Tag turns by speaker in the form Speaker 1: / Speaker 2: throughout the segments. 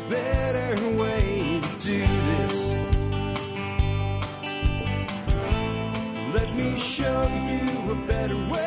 Speaker 1: better way to do this. Let me show you a better way.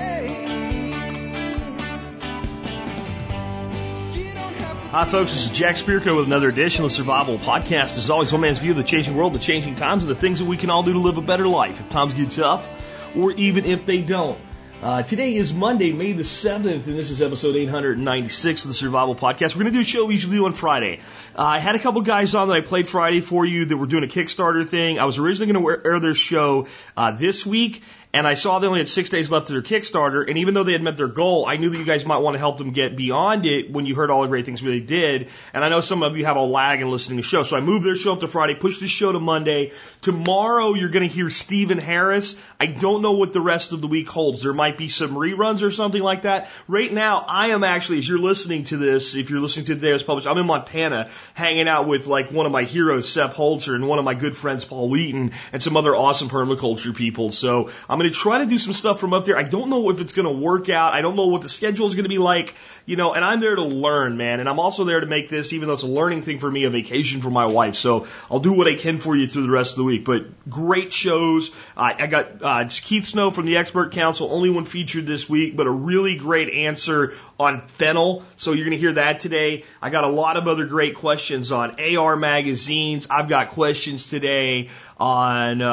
Speaker 2: Hi, folks. This is Jack Spirko with another edition of the Survival Podcast. As always, one man's view of the changing world, the changing times, and the things that we can all do to live a better life if times get tough or even if they don't. Today is Monday, May the 7th, and this is episode 896 of the Survival Podcast. We're going to do a show we usually do on Friday. I had a couple guys on that I played Friday for you that were doing a Kickstarter thing. I was originally going to air their show this week, and I saw they only had 6 days left of their Kickstarter, and even though they had met their goal, I knew that you guys might want to help them get beyond it when you heard all the great things they did, and I know some of you have a lag in listening to the show, so I moved their show up to Friday, pushed the show to Monday. Tomorrow you're going to hear Stephen Harris. I don't know what the rest of the week holds. There might be some reruns or something like that. Right now, I am actually, as you're listening to this, if you're listening to today as published, I'm in Montana hanging out with like one of my heroes, Seth Holzer, and one of my good friends, Paul Wheaton, and some other awesome permaculture people. So I'm going to try to do some stuff from up there. I don't know if it's going to work out. I don't know what the schedule is going to be like, you know, and I'm there to learn, man. And I'm also there to make this, even though it's a learning thing for me, a vacation for my wife. So I'll do what I can for you through the rest of the week. But great shows. I got Keith Snow from the Expert Council, only one featured this week, but a really great answer on fennel. So you're going to hear that today. I got a lot of other great questions on AR magazines. I've got questions today on,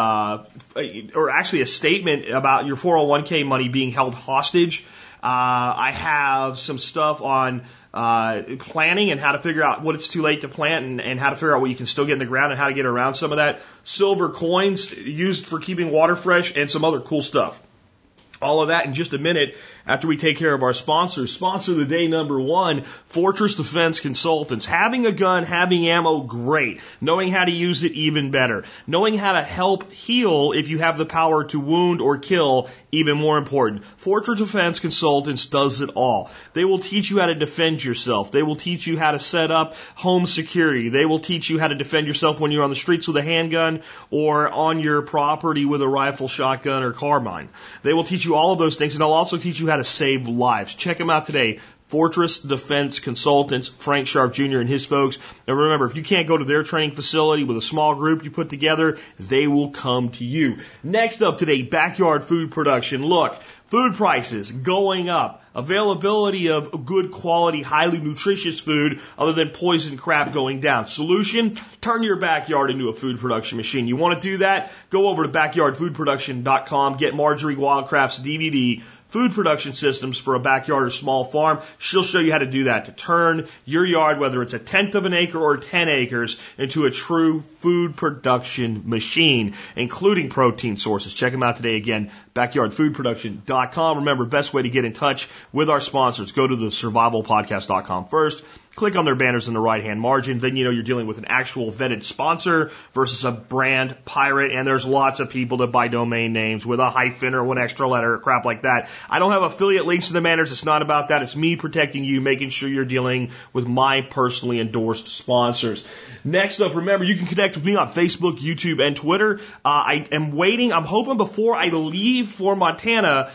Speaker 2: or actually a statement about your 401k money being held hostage. I have some stuff on planting and how to figure out what it's too late to plant and how to figure out what you can still get in the ground and how to get around some of that. Silver coins used for keeping water fresh and some other cool stuff. All of that in just a minute after we take care of our sponsors. Sponsor of the day number one, Fortress Defense Consultants. Having a gun, having ammo, great. Knowing how to use it, even better. Knowing how to help heal if you have the power to wound or kill, even more important. Fortress Defense Consultants does it all. They will teach you how to defend yourself. They will teach you how to set up home security. They will teach you how to defend yourself when you're on the streets with a handgun or on your property with a rifle, shotgun, or carbine. They will teach you all of those things, and they'll also teach you how to save lives. Check them out today. Fortress Defense Consultants, Frank Sharp Jr. and his folks. And remember, if you can't go to their training facility with a small group you put together, they will come to you. Next up today, backyard food production. Look, food prices going up. Availability of good quality, highly nutritious food other than poison crap going down. Solution? Turn your backyard into a food production machine. You want to do that? Go over to backyardfoodproduction.com. Get Marjorie Wildcraft's DVD, Food Production Systems for a Backyard or Small Farm. She'll show you how to do that, to turn your yard, whether it's a 1/10 of an acre or 10 acres, into a true food production machine, including protein sources. Check them out today again, backyardfoodproduction.com. Remember, best way to get in touch with our sponsors, go to the survivalpodcast.com first. Click on their banners in the right-hand margin. Then you know you're dealing with an actual vetted sponsor versus a brand pirate. And there's lots of people that buy domain names with a hyphen or one extra letter or crap like that. I don't have affiliate links to the banners. It's not about that. It's me protecting you, making sure you're dealing with my personally endorsed sponsors. Next up, remember, you can connect with me on Facebook, YouTube, and Twitter. I am waiting. I'm hoping before I leave for Montana,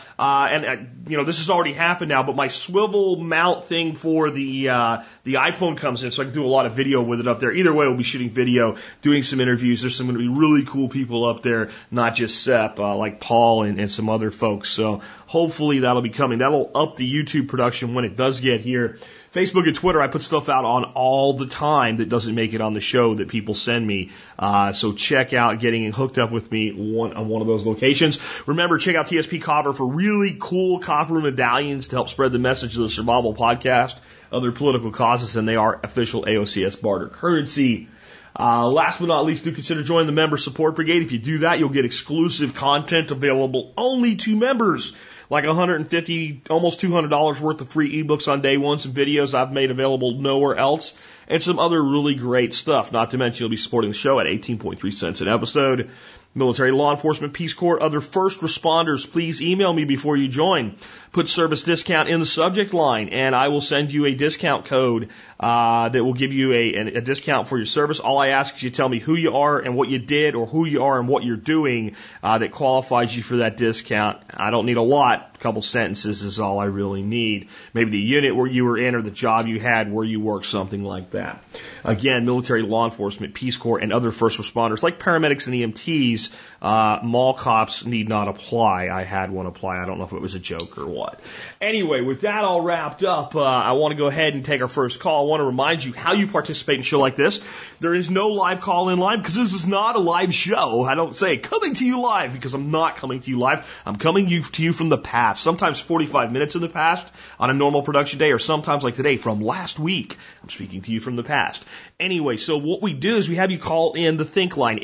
Speaker 2: this has already happened now, but my swivel mount thing for the iPhone comes in, so I can do a lot of video with it up there. Either way, we'll be shooting video, doing some interviews. There's some going to be really cool people up there, not just Sep, like Paul and some other folks. So hopefully that'll be coming. That'll up the YouTube production when it does get here. Facebook and Twitter, I put stuff out on all the time that doesn't make it on the show that people send me. So check out getting hooked up with me on one of those locations. Remember, check out TSP Copper for really cool copper medallions to help spread the message of the Survival Podcast, other political causes, and they are official AOCS barter currency. Last but not least, do consider joining the Member Support Brigade. If you do that, you'll get exclusive content available only to members, like $150, almost $200 worth of free ebooks on day one, some videos I've made available nowhere else, and some other really great stuff. Not to mention you'll be supporting the show at 18.3 cents an episode. Military, law enforcement, Peace Corps, other first responders, please email me before you join. Put service discount in the subject line, and I will send you a discount code that will give you a discount for your service. All I ask is you tell me who you are and what you did, or who you are and what you're doing that qualifies you for that discount. I don't need a lot. A couple sentences is all I really need. Maybe the unit where you were in or the job you had where you worked, something like that. Again, military, law enforcement, Peace Corps, and other first responders like paramedics and EMTs, mall cops need not apply. I had one apply. I don't know if it was a joke or what. Anyway, with that all wrapped up, I want to go ahead and take our first call. I want to remind you how you participate in a show like this. There is no live call-in line because this is not a live show. I don't say coming to you live because I'm not coming to you live. I'm coming to you from the past, sometimes 45 minutes in the past on a normal production day, or sometimes like today from last week. I'm speaking to you from the past. Anyway, so what we do is we have you call in the Think line,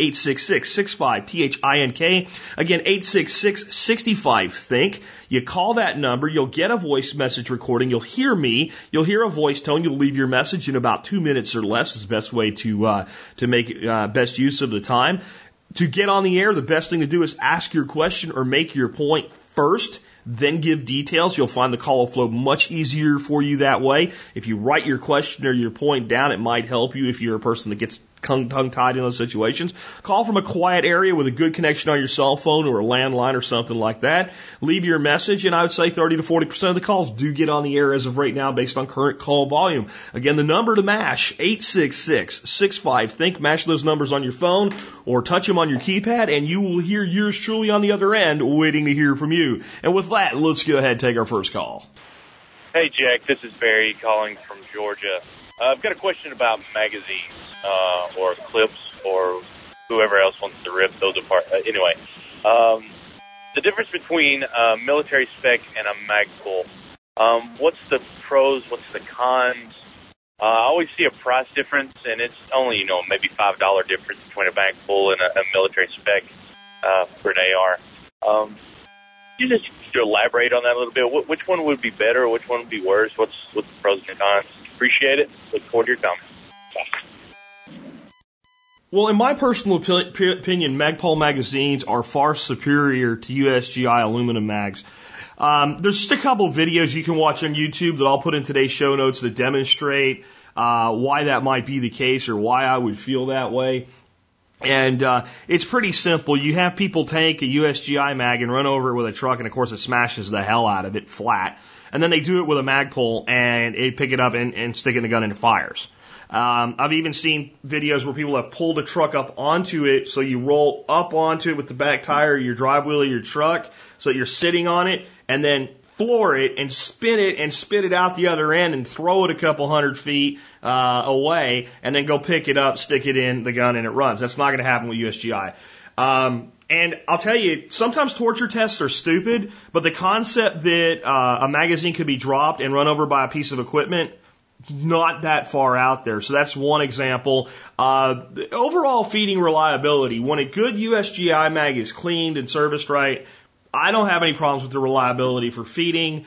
Speaker 2: 866-65-THINK. Again, 866-65-THINK. You call that number, you'll get a voice message recording, you'll hear me, you'll hear a voice tone, you'll leave your message in about 2 minutes or less. Is the best way to make best use of the time. To get on the air, the best thing to do is ask your question or make your point first, then give details. You'll find the call will flow much easier for you that way. If you write your question or your point down, it might help you if you're a person that gets tongue-tied in those situations. Call from a quiet area with a good connection on your cell phone or a landline or something like that. Leave your message, and I would say 30 to 40% of the calls do get on the air as of right now based on current call volume. Again, the number to MASH, 866-65-THINK. MASH those numbers on your phone or touch them on your keypad, and you will hear yours truly on the other end waiting to hear from you. And with that, let's go ahead and take our first call.
Speaker 3: Hey, Jack, this is Barry calling from Georgia. I've got a question about magazines, or clips, or whoever else wants to rip those apart. Anyway, the difference between a military spec and a mag pull. What's the pros? What's the cons? I always see a price difference, and it's only, maybe $5 difference between a mag pull and a military spec for an AR. Can you just elaborate on that a little bit? Which one would be better? Which one would be worse? What's the pros and cons? Appreciate it. Look forward to your comments.
Speaker 2: Well, in my personal opinion, Magpul magazines are far superior to USGI aluminum mags. There's just a couple videos you can watch on YouTube that I'll put in today's show notes that demonstrate why that might be the case or why I would feel that way. And it's pretty simple. You have people take a USGI mag and run over it with a truck, and of course it smashes the hell out of it flat. And then they do it with a Magpul and they pick it up and stick it in the gun and it fires. I've even seen videos where people have pulled a truck up onto it, so you roll up onto it with the back tire of your drive wheel of your truck, so that you're sitting on it, and then floor it and spin it and spit it out the other end and throw it a couple 100 feet away, and then go pick it up, stick it in the gun, and it runs. That's not going to happen with USGI. And I'll tell you, sometimes torture tests are stupid, but the concept that a magazine could be dropped and run over by a piece of equipment, not that far out there. So that's one example. The overall feeding reliability, when a good USGI mag is cleaned and serviced right, I don't have any problems with the reliability for feeding.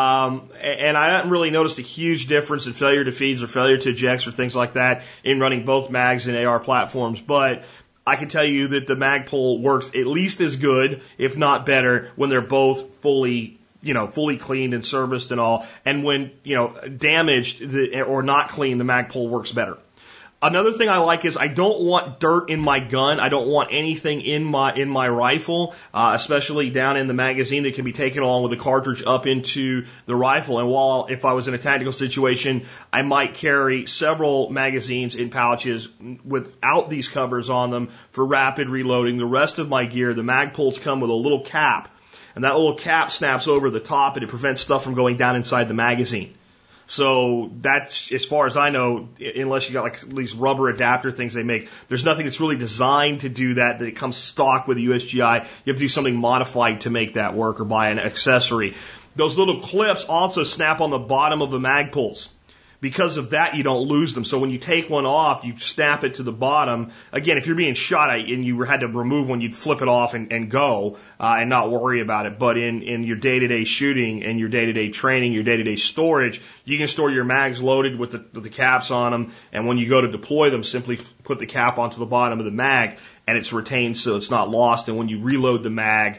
Speaker 2: And I haven't really noticed a huge difference in failure to feeds or failure to ejects or things like that in running both mags and AR platforms. But I can tell you that the Magpul works at least as good, if not better, when they're both fully cleaned and serviced and all. And when, damaged or not clean, the Magpul works better. Another thing I like is I don't want dirt in my gun. I don't want anything in my rifle, especially down in the magazine that can be taken along with the cartridge up into the rifle. And while if I was in a tactical situation, I might carry several magazines in pouches without these covers on them for rapid reloading. The rest of my gear, the Magpuls come with a little cap, and that little cap snaps over the top and it prevents stuff from going down inside the magazine. So that's, as far as I know, unless you got like these rubber adapter things they make, there's nothing that's really designed to do that it comes stock with the USGI. You have to do something modified to make that work or buy an accessory. Those little clips also snap on the bottom of the Magpuls. because of that, you don't lose them. So when you take one off, you snap it to the bottom. Again, if you're being shot at and you had to remove one, you'd flip it off and go and not worry about it. But in your day-to-day shooting and your day-to-day training, your day-to-day storage, you can store your mags loaded with the caps on them. And when you go to deploy them, simply put the cap onto the bottom of the mag, and it's retained so it's not lost. And when you reload the mag,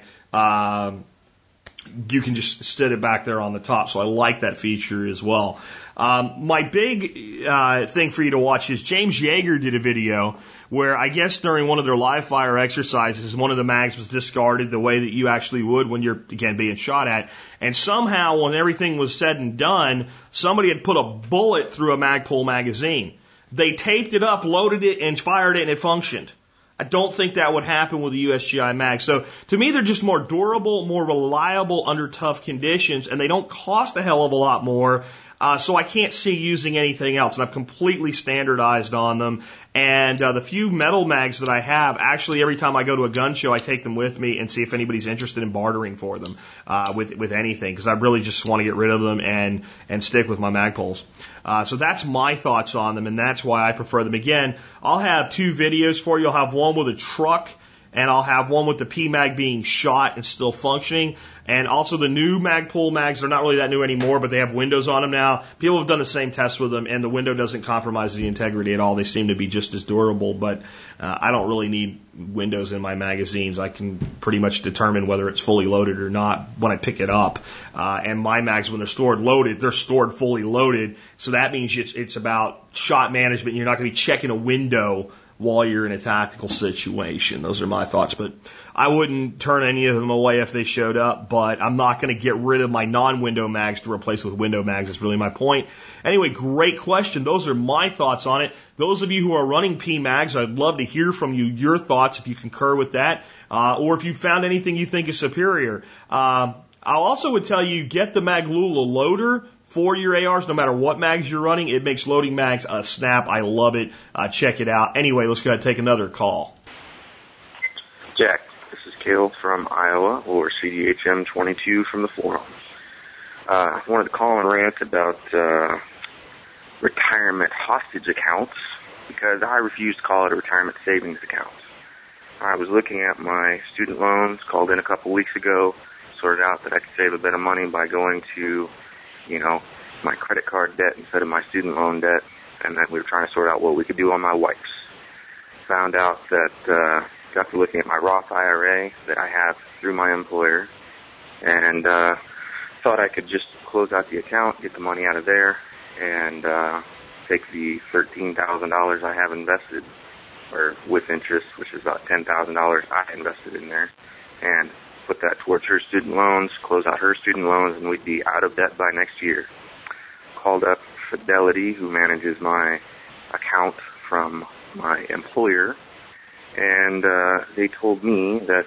Speaker 2: you can just sit it back there on the top. So I like that feature as well. My big thing for you to watch is James Yeager did a video where I guess during one of their live fire exercises, one of the mags was discarded the way that you actually would when you're, again, being shot at. And somehow, when everything was said and done, somebody had put a bullet through a Magpul magazine. They taped it up, loaded it, and fired it, and it functioned. I don't think that would happen with the USGI mag. So to me, they're just more durable, more reliable under tough conditions, and they don't cost a hell of a lot more. So I can't see using anything else, and I've completely standardized on them. And the few metal mags that I have, actually every time I go to a gun show, I take them with me and see if anybody's interested in bartering for them with anything, because I really just want to get rid of them and stick with my Magpuls. So that's my thoughts on them, and that's why I prefer them. Again, I'll have 2 videos for you. I'll have one with a truck, and I'll have one with the PMag being shot and still functioning. And also the new Magpul mags, they're not really that new anymore, but they have windows on them now. People have done the same test with them, and the window doesn't compromise the integrity at all. They seem to be just as durable, but I don't really need windows in my magazines. I can pretty much determine whether it's fully loaded or not when I pick it up. And my mags, when they're stored loaded, they're stored fully loaded. So that means it's about shot management. You're not going to be checking a window while you're in a tactical situation. Those are my thoughts, but I wouldn't turn any of them away if they showed up, but I'm not going to get rid of my non-window mags to replace with window mags. That's really my point. Anyway, great question. Those are my thoughts on it. Those of you who are running PMags, I'd love to hear from you, your thoughts, if you concur with that, or if you found anything you think is superior. I also would tell you, get the Maglula loader for your ARs, no matter what mags you're running. It makes loading mags a snap. I love it. Check it out. Anyway, let's go ahead and take another call.
Speaker 4: Jack, this is Cale from Iowa, or CDHM22 from the forum. I wanted to call and rant about retirement hostage accounts, because I refuse to call it a retirement savings account. I was looking at my student loans, called in a couple weeks ago, sorted out that I could save a bit of money by going to my credit card debt instead of my student loan debt, and then we were trying to sort out what we could do on my wife's. Found out that, got to looking at my Roth IRA that I have through my employer, and thought I could just close out the account, get the money out of there, and take the $13,000 I have invested, or with interest, which is about $10,000 I invested in there, and put that towards her student loans, close out her student loans, and we'd be out of debt by next year. Called up Fidelity, who manages my account from my employer, and they told me that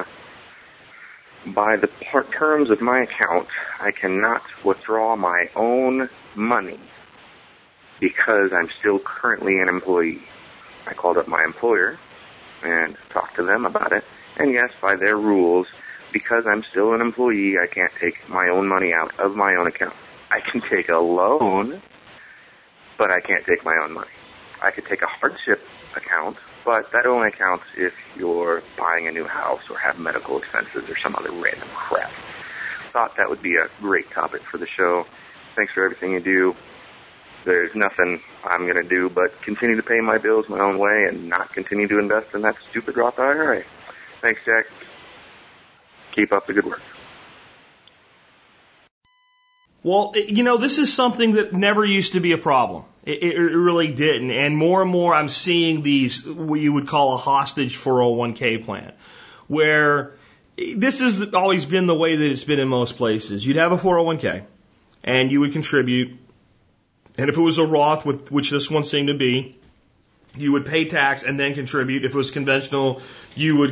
Speaker 4: by the terms of my account, I cannot withdraw my own money because I'm still currently an employee. I called up my employer and talked to them about it. And yes, by their rules, because I'm still an employee, I can't take my own money out of my own account. I can take a loan, but I can't take my own money. I could take a hardship account, but that only counts if you're buying a new house or have medical expenses or some other random crap. Thought that would be a great topic for the show. Thanks for everything you do. There's nothing I'm going to do but continue to pay my bills my own way and not continue to invest in that stupid Roth IRA. Thanks, Jack. Keep up the good work.
Speaker 2: Well, this is something that never used to be a problem. It really didn't. And more I'm seeing these, what you would call a hostage 401k plan, where this has always been the way that it's been in most places. You'd have a 401k, and you would contribute. And if it was a Roth, which this one seemed to be, you would pay tax and then contribute. If it was conventional, you would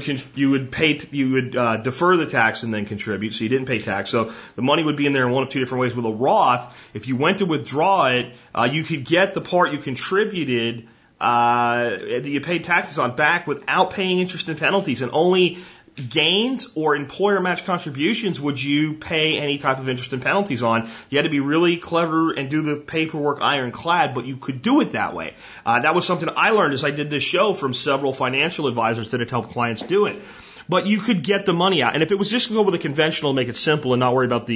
Speaker 2: defer the tax and then contribute. So you didn't pay tax. So the money would be in there in one of two different ways. With a Roth, if you went to withdraw it, you could get the part you contributed that you paid taxes on back without paying interest and penalties. And only gains or employer match contributions would you pay any type of interest and penalties on? You had to be really clever and do the paperwork ironclad, but you could do it that way. That was something I learned as I did this show from several financial advisors that had helped clients do it. But you could get the money out. And if it was just to go with a conventional, make it simple and not worry about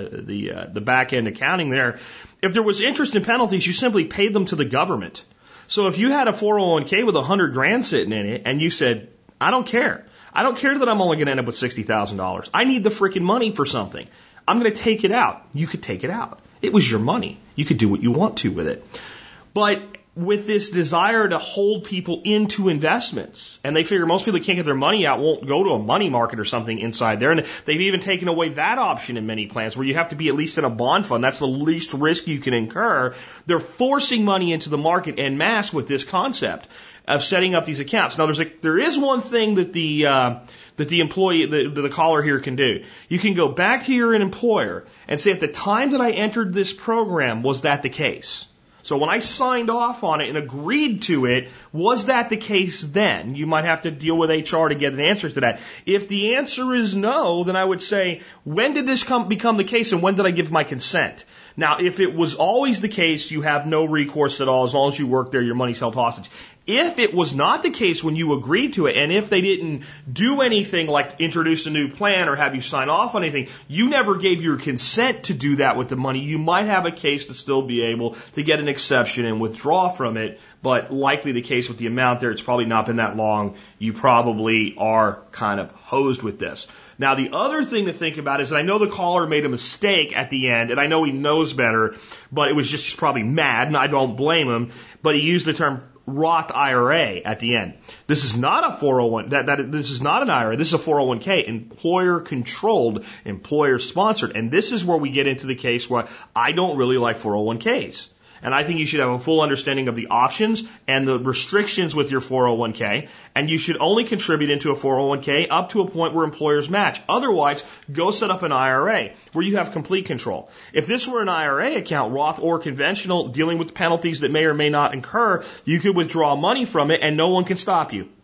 Speaker 2: the back end accounting there, if there was interest and penalties, you simply paid them to the government. So if you had a 401k with $100,000 sitting in it and you said, I don't care. I don't care that I'm only going to end up with $60,000. I need the freaking money for something. I'm going to take it out. You could take it out. It was your money. You could do what you want to with it. But with this desire to hold people into investments, and they figure most people that can't get their money out won't go to a money market or something inside there, and they've even taken away that option in many plans where you have to be at least in a bond fund. That's the least risk you can incur. They're forcing money into the market en masse with this concept of setting up these accounts. Now, there is one thing that the employee, the caller here can do. You can go back to your employer and say, at the time that I entered this program, was that the case? So when I signed off on it and agreed to it, was that the case then? You might have to deal with HR to get an answer to that. If the answer is no, then I would say, when did this become the case and when did I give my consent? Now, if it was always the case, you have no recourse at all. As long as you work there, your money's held hostage. If it was not the case when you agreed to it, and if they didn't do anything like introduce a new plan or have you sign off on anything, you never gave your consent to do that with the money, you might have a case to still be able to get an exception and withdraw from it, but likely the case with the amount there, it's probably not been that long. You probably are kind of hosed with this. Now, the other thing to think about is that I know the caller made a mistake at the end, and I know he knows better, but it was just probably mad, and I don't blame him, but he used the term Roth IRA at the end. This is not a 401, this is not an IRA, this is a 401k, employer controlled, employer sponsored, and this is where we get into the case where I don't really like 401ks. And I think you should have a full understanding of the options and the restrictions with your 401k. And you should only contribute into a 401k up to a point where employers match. Otherwise, go set up an IRA where you have complete control. If this were an IRA account, Roth or conventional, dealing with penalties that may or may not incur, you could withdraw money from it and no one can stop you.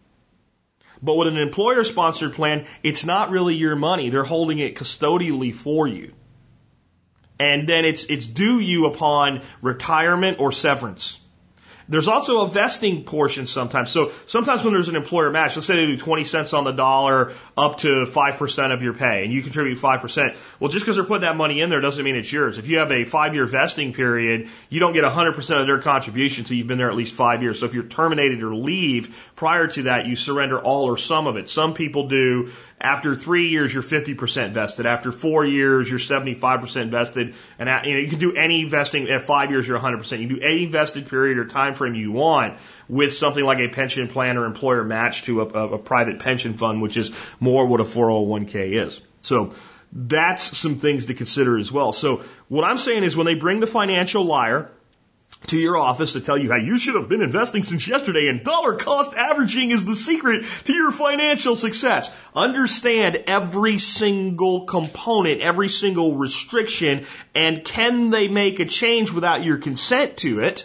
Speaker 2: But with an employer-sponsored plan, it's not really your money. They're holding it custodially for you. And then it's due you upon retirement or severance. There's also a vesting portion sometimes. So sometimes when there's an employer match, let's say they do 20 cents on the dollar up to 5% of your pay, and you contribute 5%. Well, just because they're putting that money in there doesn't mean it's yours. If you have a 5-year vesting period, you don't get 100% of their contribution until you've been there at least 5 years. So if you're terminated or leave prior to that, you surrender all or some of it. Some people do. After 3 years, you're 50% vested. After 4 years, you're 75% vested. And you can do any vesting. At 5 years, you're 100%. You can do any vested period or time frame you want with something like a pension plan or employer match to a private pension fund, which is more what a 401k is. So that's some things to consider as well. So what I'm saying is when they bring the financial liar to your office to tell you how you should have been investing since yesterday and dollar cost averaging is the secret to your financial success. Understand every single component, every single restriction, and can they make a change without your consent to it?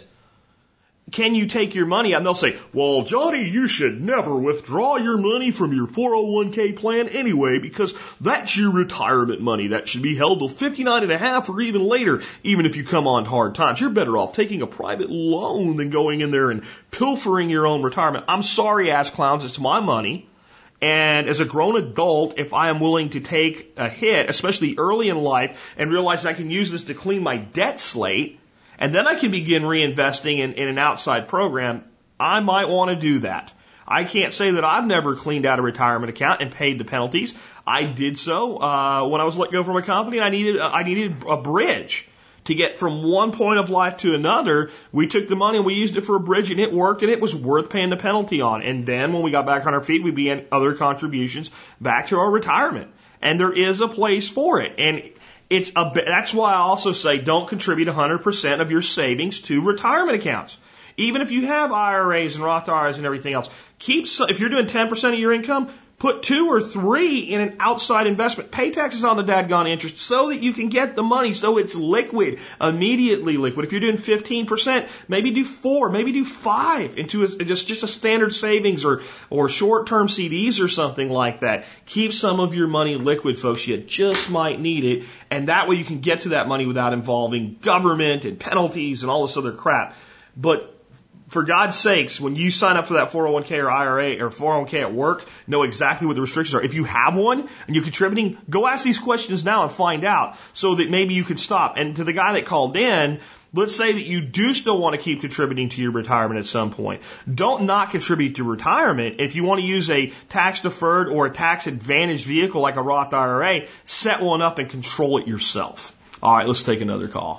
Speaker 2: Can you take your money out? And they'll say, well, Johnny, you should never withdraw your money from your 401k plan anyway, because that's your retirement money. That should be held till 59 and a half or even later, even if you come on hard times. You're better off taking a private loan than going in there and pilfering your own retirement. I'm sorry, ass clowns, it's my money. And as a grown adult, if I am willing to take a hit, especially early in life, and realize I can use this to clean my debt slate, and then I can begin reinvesting in an outside program, I might want to do that. I can't say that I've never cleaned out a retirement account and paid the penalties. I did so when I was let go from a company. I needed a bridge to get from one point of life to another. We took the money and we used it for a bridge, and it worked, and it was worth paying the penalty on. And then when we got back on our feet, we began other contributions back to our retirement. And there is a place for it. And that's why I also say don't contribute 100% of your savings to retirement accounts. Even if you have IRAs and Roth IRAs and everything else, if you're doing 10% of your income, Put 2 or 3 in an outside investment. Pay taxes on the dadgone interest so that you can get the money so it's liquid, immediately liquid. If you're doing 15%, maybe do 4, maybe do 5 into just a standard savings or short-term CDs or something like that. Keep some of your money liquid, folks. You just might need it. And that way you can get to that money without involving government and penalties and all this other crap. But for God's sakes, when you sign up for that 401k or IRA or 401k at work, know exactly what the restrictions are. If you have one and you're contributing, go ask these questions now and find out so that maybe you can stop. And to the guy that called in, let's say that you do still want to keep contributing to your retirement at some point. Don't not contribute to retirement. If you want to use a tax-deferred or a tax-advantaged vehicle like a Roth IRA, set one up and control it yourself. All right, let's take another call.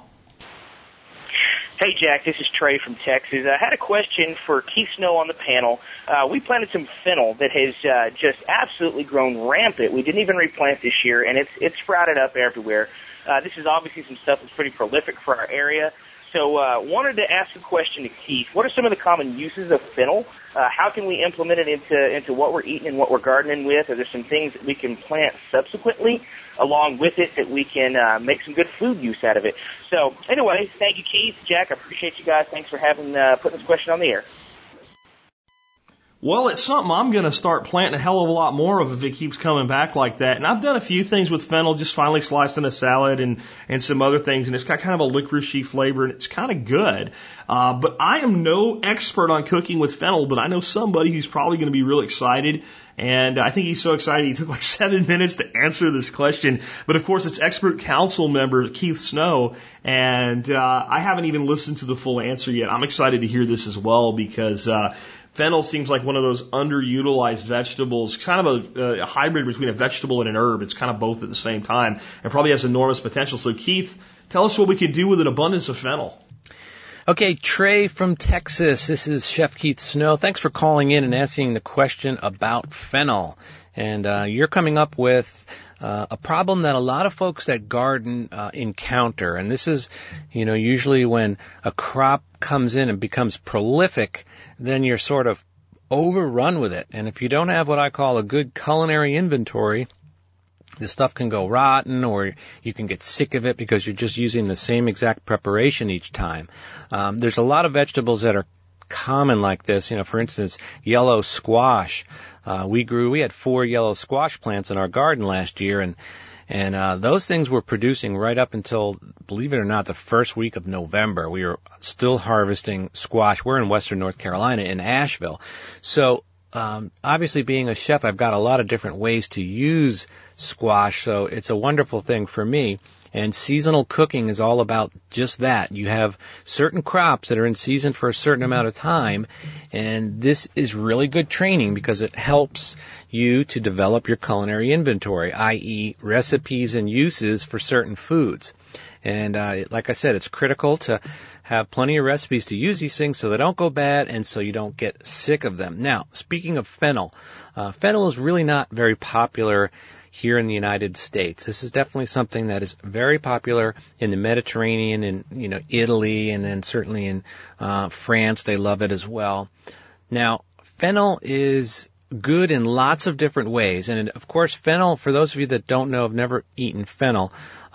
Speaker 5: Hey, Jack, this is Trey from Texas. I had a question for Keith Snow on the panel. We planted some fennel that has just absolutely grown rampant. We didn't even replant this year, and it's sprouted up everywhere. This is obviously some stuff that's pretty prolific for our area. So wanted to ask a question to Keith. What are some of the common uses of fennel? How can we implement it into what we're eating and what we're gardening with? Are there some things that we can plant subsequently along with it that we can make some good food use out of it? So anyway, thank you, Keith. Jack, I appreciate you guys. Thanks for putting this question on the air.
Speaker 2: Well, it's something I'm going to start planting a hell of a lot more of if it keeps coming back like that. And I've done a few things with fennel, just finally sliced in a salad and some other things, and it's got kind of a licoricey flavor, and it's kind of good. But I am no expert on cooking with fennel, but I know somebody who's probably going to be really excited. And I think he's so excited he took like 7 minutes to answer this question. But of course, it's expert council member Keith Snow, and I haven't even listened to the full answer yet. I'm excited to hear this as well because fennel seems like one of those underutilized vegetables, kind of a hybrid between a vegetable and an herb. It's kind of both at the same time and probably has enormous potential. So Keith, tell us what we could do with an abundance of fennel.
Speaker 6: Okay, Trey from Texas. This is Chef Keith Snow. Thanks for calling in and asking the question about fennel. And you're coming up with a problem that a lot of folks that garden encounter. And this is, usually when a crop comes in and becomes prolific, then you're sort of overrun with it. And if you don't have what I call a good culinary inventory, the stuff can go rotten, or you can get sick of it because you're just using the same exact preparation each time. There's a lot of vegetables that are common like this. For instance, yellow squash. We had 4 yellow squash plants in our garden last year, and those things were producing right up until, believe it or not, the first week of November. We were still harvesting squash. We're in western North Carolina, in Asheville. So obviously, being a chef, I've got a lot of different ways to use squash, so it's a wonderful thing for me. And seasonal cooking is all about just that. You have certain crops that are in season for a certain amount of time, and this is really good training because it helps you to develop your culinary inventory, i.e. recipes and uses for certain foods. And like I said, it's critical to have plenty of recipes to use these things so they don't go bad and so you don't get sick of them. Now, speaking of fennel, fennel is really not very popular here in the United States. This is definitely something that is very popular in the Mediterranean and, Italy, and then certainly in France. They love it as well. Now, fennel is good in lots of different ways. And of course, fennel, for those of you that don't know, have never eaten fennel,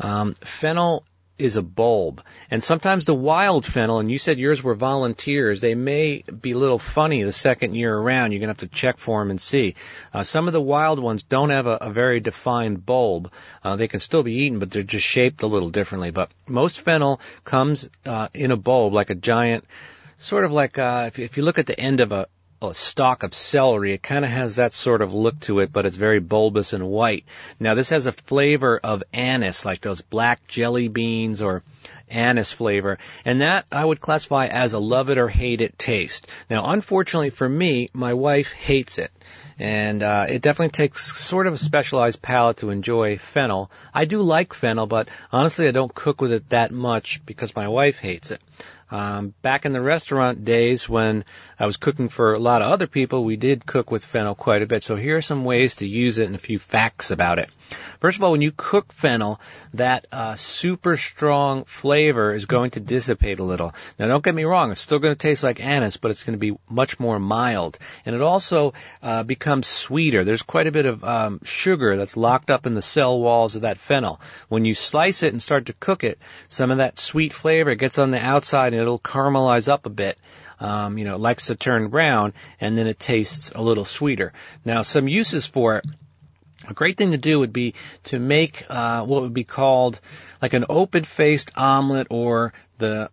Speaker 6: fennel is a bulb. And sometimes the wild fennel, and you said yours were volunteers, they may be a little funny the second year around. You're going to have to check for them and see. Some of the wild ones don't have a very defined bulb. They can still be eaten, but they're just shaped a little differently. But most fennel comes in a bulb, like a giant, sort of like if you look at the end of a stalk of celery, it kind of has that sort of look to it, but it's very bulbous and white. Now, this has a flavor of anise, like those black jelly beans or anise flavor, and that I would classify as a love it or hate it taste. Now, unfortunately for me, my wife hates it, and it definitely takes sort of a specialized palate to enjoy fennel. I do like fennel, but honestly, I don't cook with it that much because my wife hates it. Back in the restaurant days when I was cooking for a lot of other people, we did cook with fennel quite a bit. So here are some ways to use it and a few facts about it. First of all, when you cook fennel, that super strong flavor is going to dissipate a little. Now, don't get me wrong, it's still going to taste like anise, but it's going to be much more mild. And it also becomes sweeter. There's quite a bit of sugar that's locked up in the cell walls of that fennel. When you slice it and start to cook it, some of that sweet flavor gets on the outside and it'll caramelize up a bit. It likes to turn brown, and then it tastes a little sweeter. Now, some uses for it. A great thing to do would be to make what would be called like an open-faced omelet, or the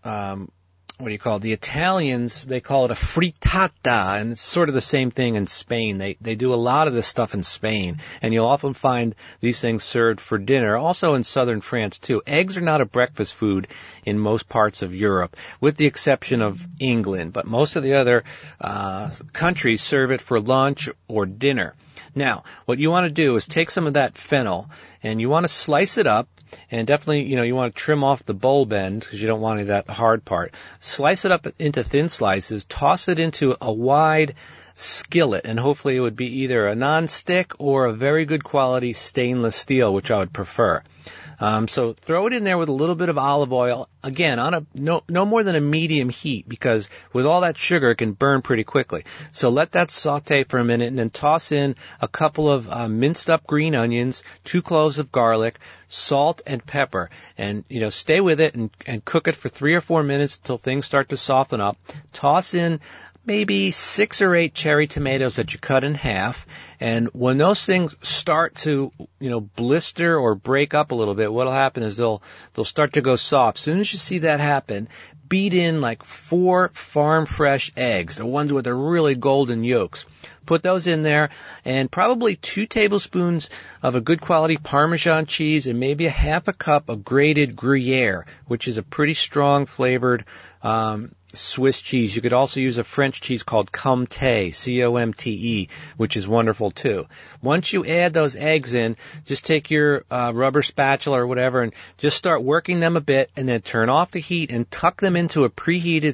Speaker 6: the Italians, they call it a frittata, and it's sort of the same thing in Spain. They do a lot of this stuff in Spain, and you'll often find these things served for dinner, also in southern France too. Eggs are not a breakfast food in most parts of Europe, with the exception of England, but most of the other countries serve it for lunch or dinner. Now, what you want to do is take some of that fennel, and you want to slice it up, and definitely, you want to trim off the bulb end because you don't want any of that hard part. Slice it up into thin slices, toss it into a wide skillet, and hopefully it would be either a non-stick or a very good quality stainless steel, which I would prefer. So throw it in there with a little bit of olive oil, again, on no more than a medium heat, because with all that sugar, it can burn pretty quickly. So let that saute for a minute, and then toss in a couple of minced up green onions, 2 cloves of garlic, salt and pepper, and, stay with it and cook it for 3 or 4 minutes until things start to soften up. Toss in maybe 6 or 8 cherry tomatoes that you cut in half. And when those things start to, blister or break up a little bit, what'll happen is they'll start to go soft. As soon as you see that happen, beat in like 4 farm fresh eggs, the ones with the really golden yolks. Put those in there, and probably 2 tablespoons of a good quality Parmesan cheese, and maybe a half a cup of grated Gruyere, which is a pretty strong flavored Swiss cheese. You could also use a French cheese called Comté, C-O-M-T-E, which is wonderful too. Once you add those eggs in, just take your rubber spatula or whatever and just start working them a bit, and then turn off the heat and tuck them into a preheated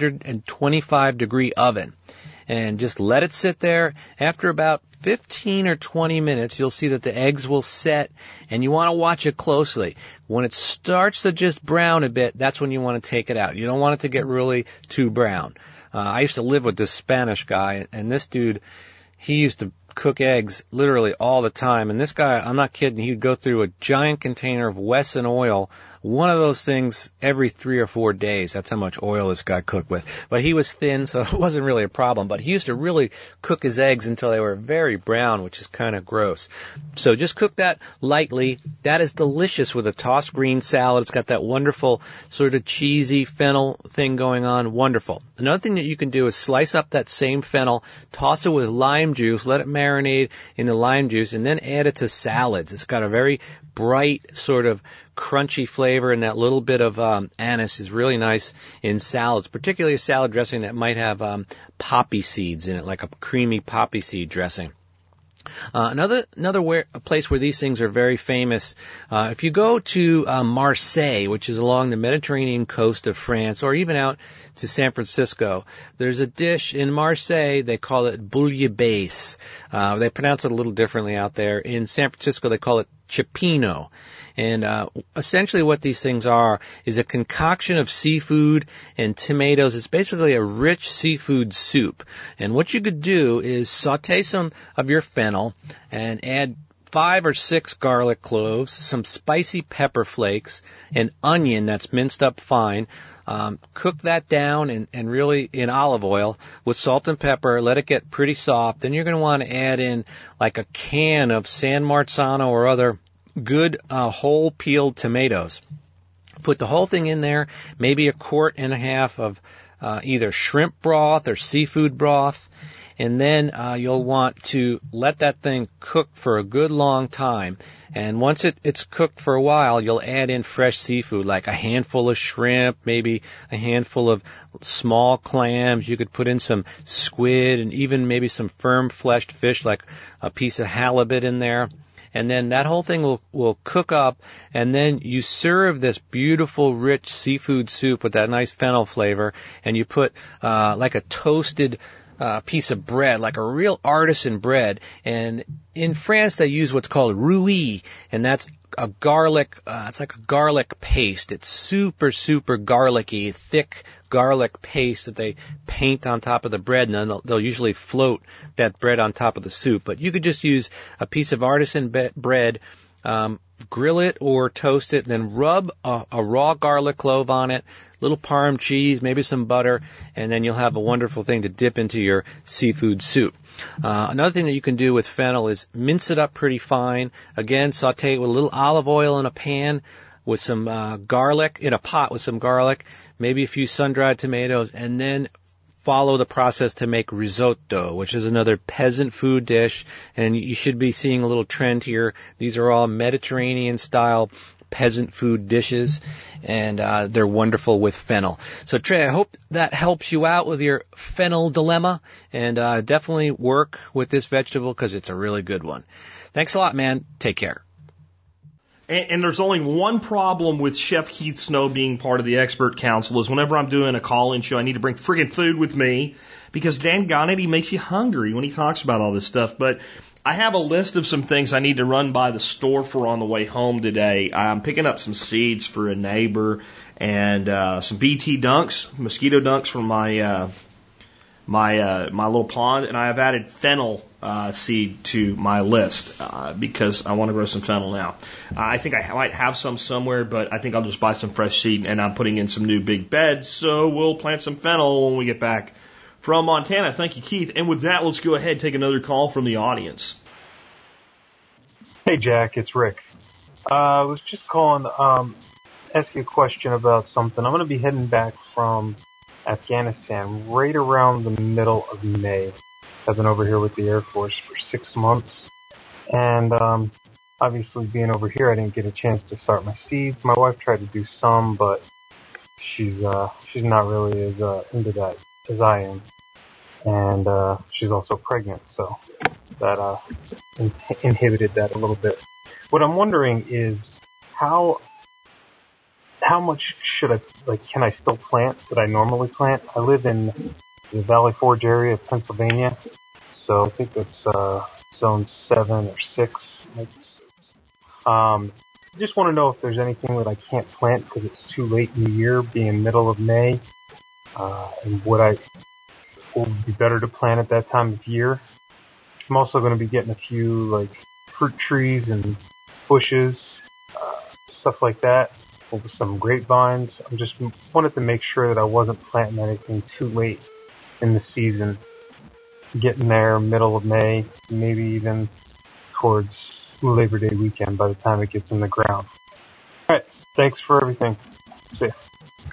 Speaker 6: 325 degree oven. And just let it sit there. After about 15 or 20 minutes, you'll see that the eggs will set, and you want to watch it closely. When it starts to just brown a bit, that's when you want to take it out. You don't want it to get really too brown. I used to live with this Spanish guy, and this dude, he used to cook eggs literally all the time. And this guy, I'm not kidding, he'd go through a giant container of Wesson oil, one of those things every 3 or 4 days. That's how much oil this guy cooked with. But he was thin, so it wasn't really a problem. But he used to really cook his eggs until they were very brown, which is kind of gross. So just cook that lightly. That is delicious with a tossed green salad. It's got that wonderful sort of cheesy fennel thing going on. Wonderful. Another thing that you can do is slice up that same fennel, toss it with lime juice, let it marinate in the lime juice, and then add it to salads. It's got a very bright sort of crunchy flavor, and that little bit of anise is really nice in salads, particularly a salad dressing that might have poppy seeds in it, like a creamy poppy seed dressing. Another place where these things are very famous, if you go to Marseille, which is along the Mediterranean coast of France, or even out to San Francisco, there's a dish in Marseille, they call it bouillabaisse. They pronounce it a little differently out there. In San Francisco, they call it cioppino. And essentially what these things are is a concoction of seafood and tomatoes. It's basically a rich seafood soup. And what you could do is saute some of your fennel and add 5 or 6 garlic cloves, some spicy pepper flakes, an onion that's minced up fine. Cook that down and really in olive oil with salt and pepper. Let it get pretty soft. Then you're going to want to add in like a can of San Marzano or other good whole peeled tomatoes. Put the whole thing in there, maybe 1.5 quarts of either shrimp broth or seafood broth. And then you'll want to let that thing cook for a good long time. And once it's cooked for a while, you'll add in fresh seafood, like a handful of shrimp, maybe a handful of small clams. You could put in some squid and even maybe some firm-fleshed fish, like a piece of halibut in there. and then that whole thing will cook up, and then you serve this beautiful, rich seafood soup with that nice fennel flavor, and you put like a toasted piece of bread, like a real artisan bread. And in France, they use what's called rouille, and that's a garlic, it's like a garlic paste. It's super, super garlicky, thick garlic paste that they paint on top of the bread, and then they'll usually float that bread on top of the soup. But you could just use a piece of artisan bread, grill it or toast it, and then rub a raw garlic clove on it, little parm cheese, maybe some butter, and then you'll have a wonderful thing to dip into your seafood soup. Another thing that you can do with fennel is mince it up pretty fine. Again, saute it with a little olive oil in a pan with some garlic, in a pot with some garlic, maybe a few sun-dried tomatoes, and then follow the process to make risotto, which is another peasant food dish, and you should be seeing a little trend here. These are all Mediterranean-style peasant food dishes, and they're wonderful with fennel. So Trey, I hope that helps you out with your fennel dilemma, and definitely work with this vegetable because it's a really good one. Thanks a lot, man. Take care.
Speaker 2: And there's only one problem with Chef Keith Snow being part of the expert council is whenever I'm doing a call-in show, I need to bring friggin' food with me because Dan he makes you hungry when he talks about all this stuff. But I have a list of some things I need to run by the store for on the way home today. I'm picking up some seeds for a neighbor and some BT dunks, mosquito dunks from my little pond, and I have added fennel seed to my list because I want to grow some fennel now. I think I might have some somewhere, but I think I'll just buy some fresh seed, and I'm putting in some new big beds, so we'll plant some fennel when we get back from Montana. Thank you, Keith. And with that, let's go ahead and take another call from the audience.
Speaker 7: Hey, Jack, it's Rick. I was just calling to ask you a question about something. I'm going to be heading back from Afghanistan right around the middle of May. I've been over here with the Air Force for 6 months, and obviously being over here, I didn't get a chance to start my seeds. My wife tried to do some, but she's not really as into that as I am, and she's also pregnant, so that inhibited that a little bit. What I'm wondering is how much can I still plant that I normally plant? I live in the Valley Forge area of Pennsylvania, so I think it's zone 7 or 6. I just want to know if there's anything that I can't plant because it's too late in the year, being middle of May, and would be better to plant at that time of year. I'm also going to be getting a few fruit trees and bushes, stuff like that, with some grapevines. I just wanted to make sure that I wasn't planting anything too late in the season. Getting there middle of May, maybe even towards Labor Day weekend by the time it gets in the ground. All right, thanks for everything. See ya.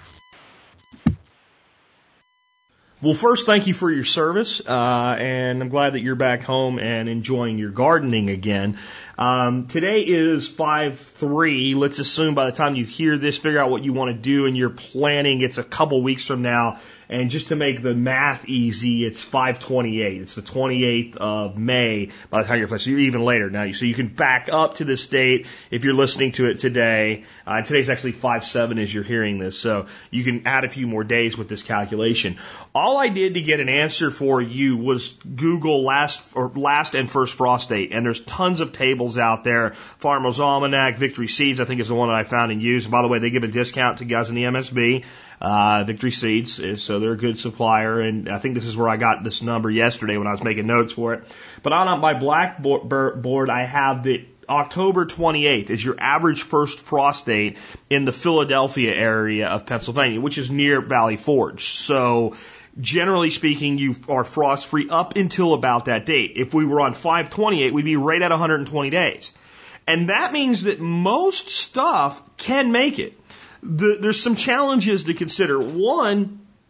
Speaker 2: Well, first, thank you for your service, and I'm glad that you're back home and enjoying your gardening again. Today is 5/3. Let's assume by the time you hear this, figure out what you want to do in your planning. It's a couple weeks from now. And just to make the math easy, it's 5/28. It's the 28th of May by the time you're planning. So you're even later now. So you can back up to this date if you're listening to it today. And today's actually 5/7 as you're hearing this. So you can add a few more days with this calculation. All I did to get an answer for you was Google last and first frost date. And there's tons of tables out there. Farmer's Almanac, Victory Seeds, I think is the one that I found and used. And by the way, they give a discount to guys in the MSB. Victory Seeds, so they're a good supplier, and I think this is where I got this number yesterday when I was making notes for it. But on my blackboard, I have the October 28th is your average first frost date in the Philadelphia area of Pennsylvania, which is near Valley Forge. So generally speaking, you are frost free up until about that date. If we were on 5/28, we'd be right at 120 days. And that means that most stuff can make it. There's some challenges to consider. One,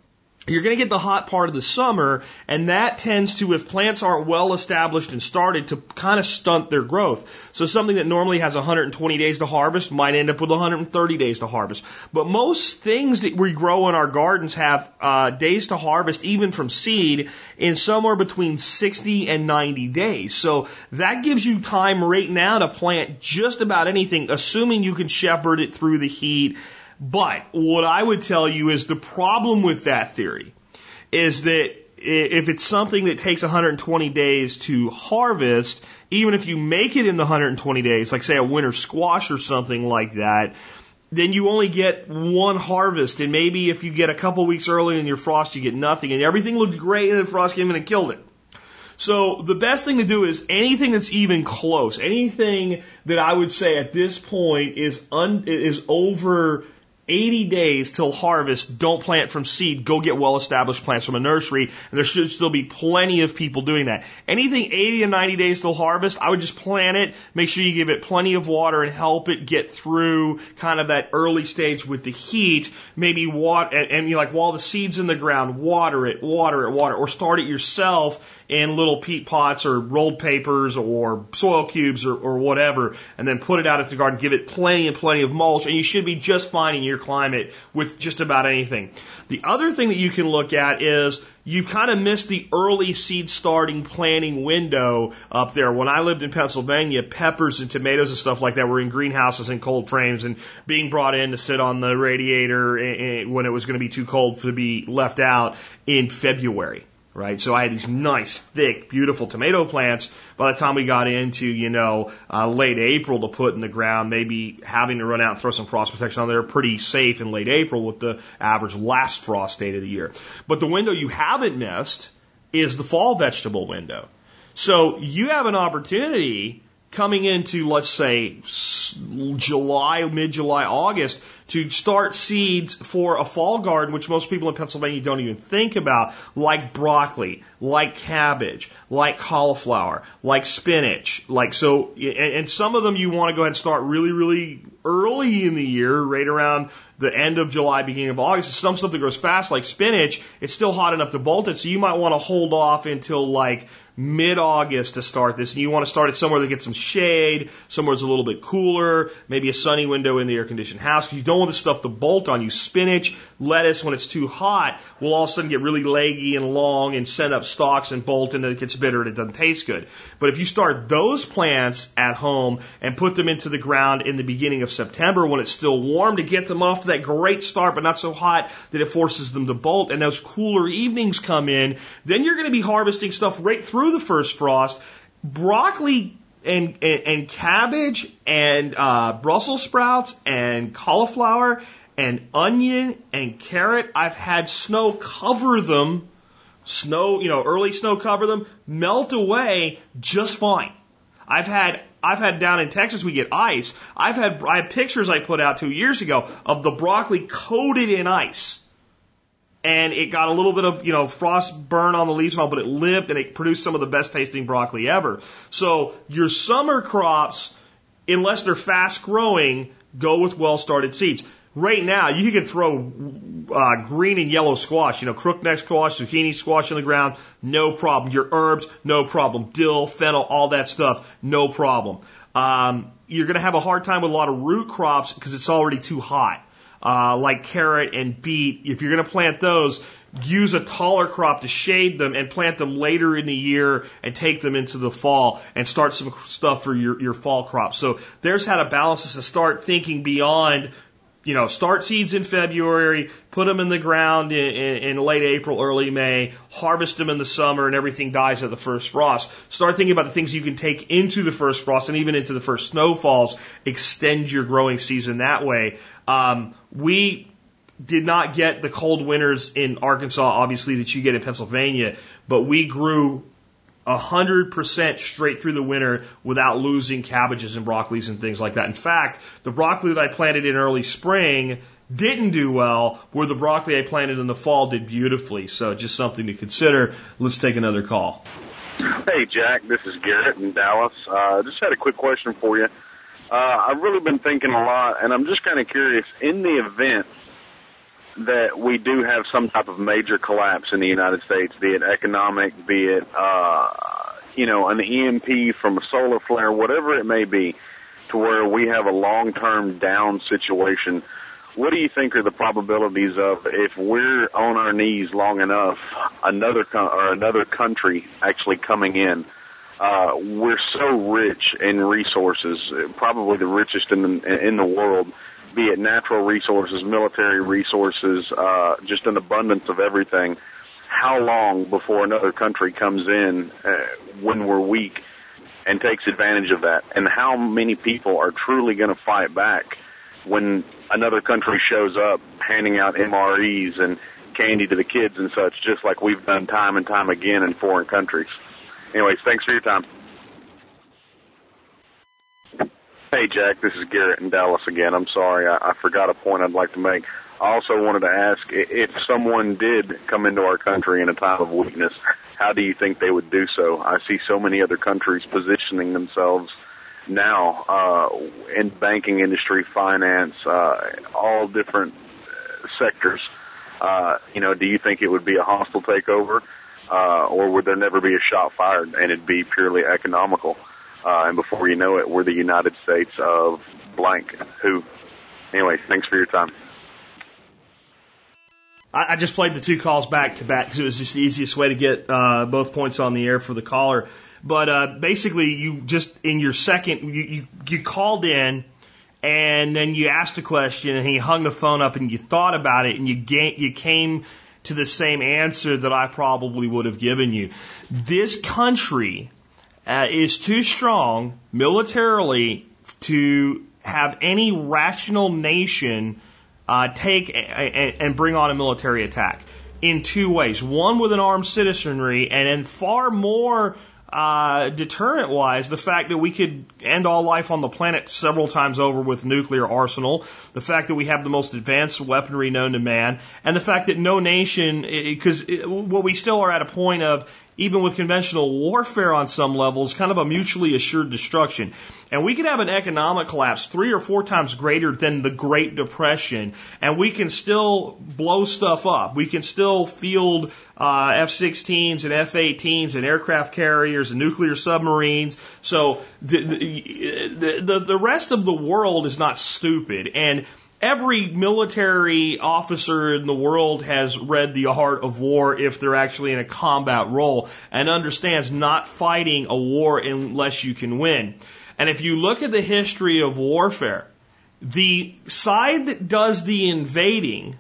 Speaker 2: you're going to get the hot part of the summer, and that tends to, if plants aren't well established and started, to kind of stunt their growth. So something that normally has 120 days to harvest might end up with 130 days to harvest. But most things that we grow in our gardens have days to harvest, even from seed, in somewhere between 60 and 90 days. So that gives you time right now to plant just about anything, assuming you can shepherd it through the heat. But what I would tell you is the problem with that theory is that if it's something that takes 120 days to harvest, even if you make it in the 120 days, like say a winter squash or something like that, then you only get one harvest. And maybe if you get a couple weeks early in your frost, you get nothing. And everything looked great and then frost came in and killed it. So the best thing to do is anything that's even close, anything that I would say at this point is over 80 days till harvest, don't plant from seed. Go get well-established plants from a nursery, and there should still be plenty of people doing that. Anything 80 to 90 days till harvest, I would just plant it, make sure you give it plenty of water and help it get through kind of that early stage with the heat. Maybe water, and you like while the seed's in the ground, water it, or start it yourself in little peat pots or rolled papers or soil cubes or whatever, and then put it out into the garden, give it plenty and plenty of mulch, and you should be just fine in your climate with just about anything. The other thing that you can look at is you've kind of missed the early seed starting planting window up there. When I lived in Pennsylvania, peppers and tomatoes and stuff like that were in greenhouses and cold frames and being brought in to sit on the radiator when it was going to be too cold to be left out in February. Right, so I had these nice, thick, beautiful tomato plants. By the time we got into, late April to put in the ground, maybe having to run out and throw some frost protection on there, pretty safe in late April with the average last frost date of the year. But the window you haven't missed is the fall vegetable window. So you have an opportunity coming into, let's say, July, mid-July, August, to start seeds for a fall garden, which most people in Pennsylvania don't even think about, like broccoli, like cabbage, like cauliflower, like spinach. And some of them you want to go ahead and start really, really early in the year, right around the end of July, beginning of August. Some stuff that grows fast, like spinach, it's still hot enough to bolt it, so you might want to hold off until like mid-August to start this, and you want to start it somewhere that gets some shade, somewhere that's a little bit cooler, maybe a sunny window in the air-conditioned house, because you don't want this stuff to bolt on you. Spinach, lettuce, when it's too hot, will all of a sudden get really leggy and long and send up stalks and bolt, and then it gets bitter and it doesn't taste good. But if you start those plants at home and put them into the ground in the beginning of September when it's still warm to get them off to that great start, but not so hot that it forces them to bolt, and those cooler evenings come in, then you're going to be harvesting stuff right through the first frost. Broccoli and cabbage and Brussels sprouts and cauliflower and onion and carrot, I've had snow cover them, early snow cover them, melt away just fine. I've had down in Texas, we get ice. I have pictures I put out 2 years ago of the broccoli coated in ice. And it got a little bit of, frost burn on the leaves and all, but it lived and it produced some of the best tasting broccoli ever. So your summer crops, unless they're fast growing, go with well started seeds. Right now, you can throw green and yellow squash, crookneck squash, zucchini squash in the ground, no problem. Your herbs, no problem. Dill, fennel, all that stuff, no problem. You're going to have a hard time with a lot of root crops because it's already too hot. Like carrot and beet, if you're going to plant those, use a taller crop to shade them and plant them later in the year and take them into the fall and start some stuff for your fall crops. So there's how to balance this and start thinking beyond, start seeds in February, put them in the ground in late April, early May, harvest them in the summer, and everything dies at the first frost. Start thinking about the things you can take into the first frost and even into the first snowfalls. Extend your growing season that way. We did not get the cold winters in Arkansas, obviously, that you get in Pennsylvania, but we grew 100% straight through the winter without losing cabbages and broccolis and things like that. In fact, the broccoli that I planted in early spring didn't do well, where the broccoli I planted in the fall did beautifully. So just something to consider. Let's take another call.
Speaker 8: Hey, Jack, this is Garrett in Dallas. Just had a quick question for you. I've really been thinking a lot, and I'm just kind of curious, in the event that we do have some type of major collapse in the United States, be it economic, be it, an EMP from a solar flare, whatever it may be, to where we have a long-term down situation, what do you think are the probabilities of, if we're on our knees long enough, another country actually coming in? We're so rich in resources, probably the richest in the world, be it natural resources, military resources, just an abundance of everything. How long before another country comes in when we're weak and takes advantage of that? And how many people are truly going to fight back when another country shows up handing out MREs and candy to the kids and such, just like we've done time and time again in foreign countries? Anyways, thanks for your time. Hey, Jack, this is Garrett in Dallas again. I'm sorry, I forgot a point I'd like to make. I also wanted to ask, if someone did come into our country in a time of weakness, how do you think they would do so? I see so many other countries positioning themselves now in banking industry, finance, all different sectors. Do you think it would be a hostile takeover, or would there never be a shot fired and it'd be purely economical? And before you know it, we're the United States of blank who. Anyway, thanks for your time.
Speaker 2: I just played the two calls back to back because it was just the easiest way to get both points on the air for the caller. But basically, you just in your second, you called in and then you asked a question and he hung the phone up and you thought about it and you came to the same answer that I probably would have given you. This country is too strong militarily to have any rational nation take and bring on a military attack in two ways. One, with an armed citizenry, and then far more deterrent-wise, the fact that we could end all life on the planet several times over with nuclear arsenal, the fact that we have the most advanced weaponry known to man, and the fact that no nation, because what we still are at a point of, even with conventional warfare on some levels, kind of a mutually assured destruction. And we could have an economic collapse 3 or 4 times greater than the Great Depression, and we can still blow stuff up. We can still field F-16s and F-18s and aircraft carriers and nuclear submarines. So the rest of the world is not stupid. And every military officer in the world has read The Art of War if they're actually in a combat role and understands not fighting a war unless you can win. And if you look at the history of warfare, the side that does the invading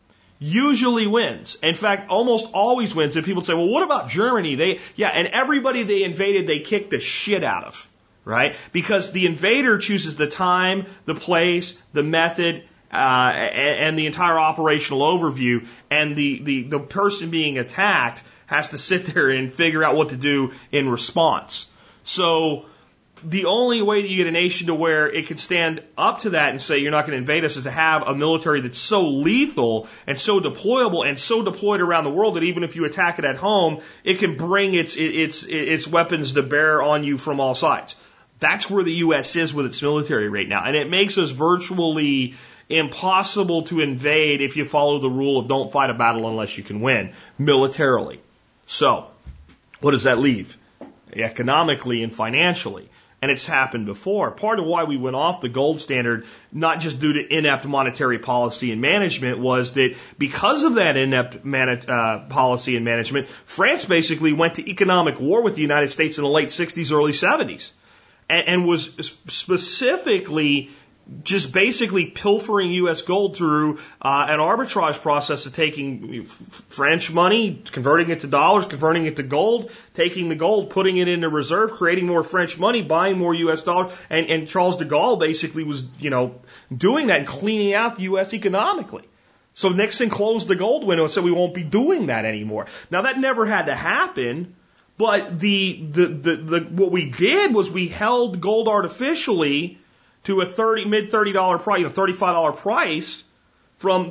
Speaker 2: usually wins. In fact, almost always wins. And people say, well, what about Germany? And everybody they invaded, they kicked the shit out of. Right? Because the invader chooses the time, the place, the method, and the entire operational overview, and the person being attacked has to sit there and figure out what to do in response. So the only way that you get a nation to where it can stand up to that and say you're not going to invade us is to have a military that's so lethal and so deployable and so deployed around the world that even if you attack it at home, it can bring its weapons to bear on you from all sides. That's where the U.S. is with its military right now. And it makes us virtually impossible to invade if you follow the rule of don't fight a battle unless you can win militarily. So, what does that leave? Economically and financially. And it's happened before. Part of why we went off the gold standard, not just due to inept monetary policy and management, was that because of that inept policy and management, France basically went to economic war with the United States in the late 60s, early 70s. And was specifically just basically pilfering U.S. gold through an arbitrage process of taking French money, converting it to dollars, converting it to gold, taking the gold, putting it into reserve, creating more French money, buying more U.S. dollars. And Charles de Gaulle basically was, doing that and cleaning out the U.S. economically. So Nixon closed the gold window and said we won't be doing that anymore. Now that never had to happen. But what we did was we held gold artificially to a mid $30 price, $35 price from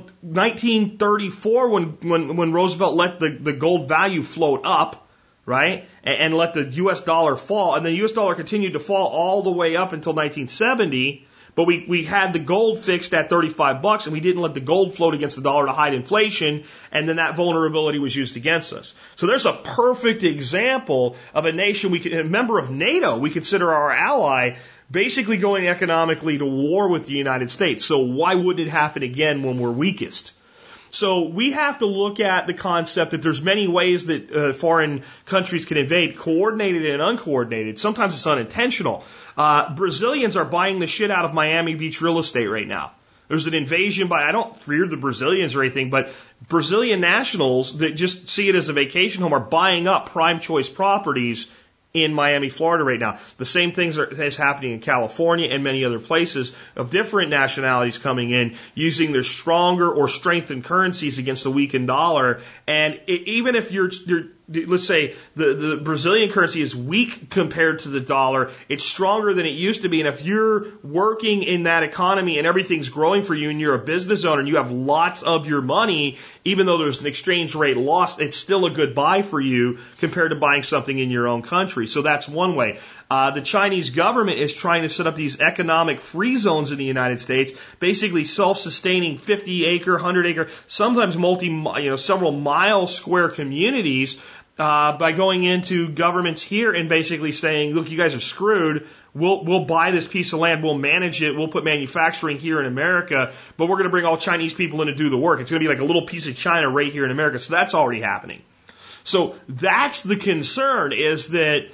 Speaker 2: 1934 when Roosevelt let the gold value float up, right? And let the US dollar fall, and the US dollar continued to fall all the way up until 1970. But we had the gold fixed at $35 and we didn't let the gold float against the dollar to hide inflation, and then that vulnerability was used against us. So there's a perfect example of a nation a member of NATO we consider our ally, basically going economically to war with the United States. So why would it happen again when we're weakest? So we have to look at the concept that there's many ways that foreign countries can invade, coordinated and uncoordinated. Sometimes it's unintentional. Brazilians are buying the shit out of Miami Beach real estate right now. There's an invasion I don't fear the Brazilians or anything, but Brazilian nationals that just see it as a vacation home are buying up prime choice properties in Miami, Florida right now. The same things is happening in California and many other places of different nationalities coming in using their stronger or strengthened currencies against the weakened dollar. And even if you're let's say the Brazilian currency is weak compared to the dollar, it's stronger than it used to be. And if you're working in that economy and everything's growing for you and you're a business owner and you have lots of your money, even though there's an exchange rate loss, it's still a good buy for you compared to buying something in your own country. So that's one way. The Chinese government is trying to set up these economic free zones in the United States, basically self-sustaining 50-acre, 100-acre, sometimes several mile square communities, by going into governments here and basically saying, look, you guys are screwed. We'll buy this piece of land. We'll manage it. We'll put manufacturing here in America, but we're going to bring all Chinese people in to do the work. It's going to be like a little piece of China right here in America. So that's already happening. So that's the concern, is that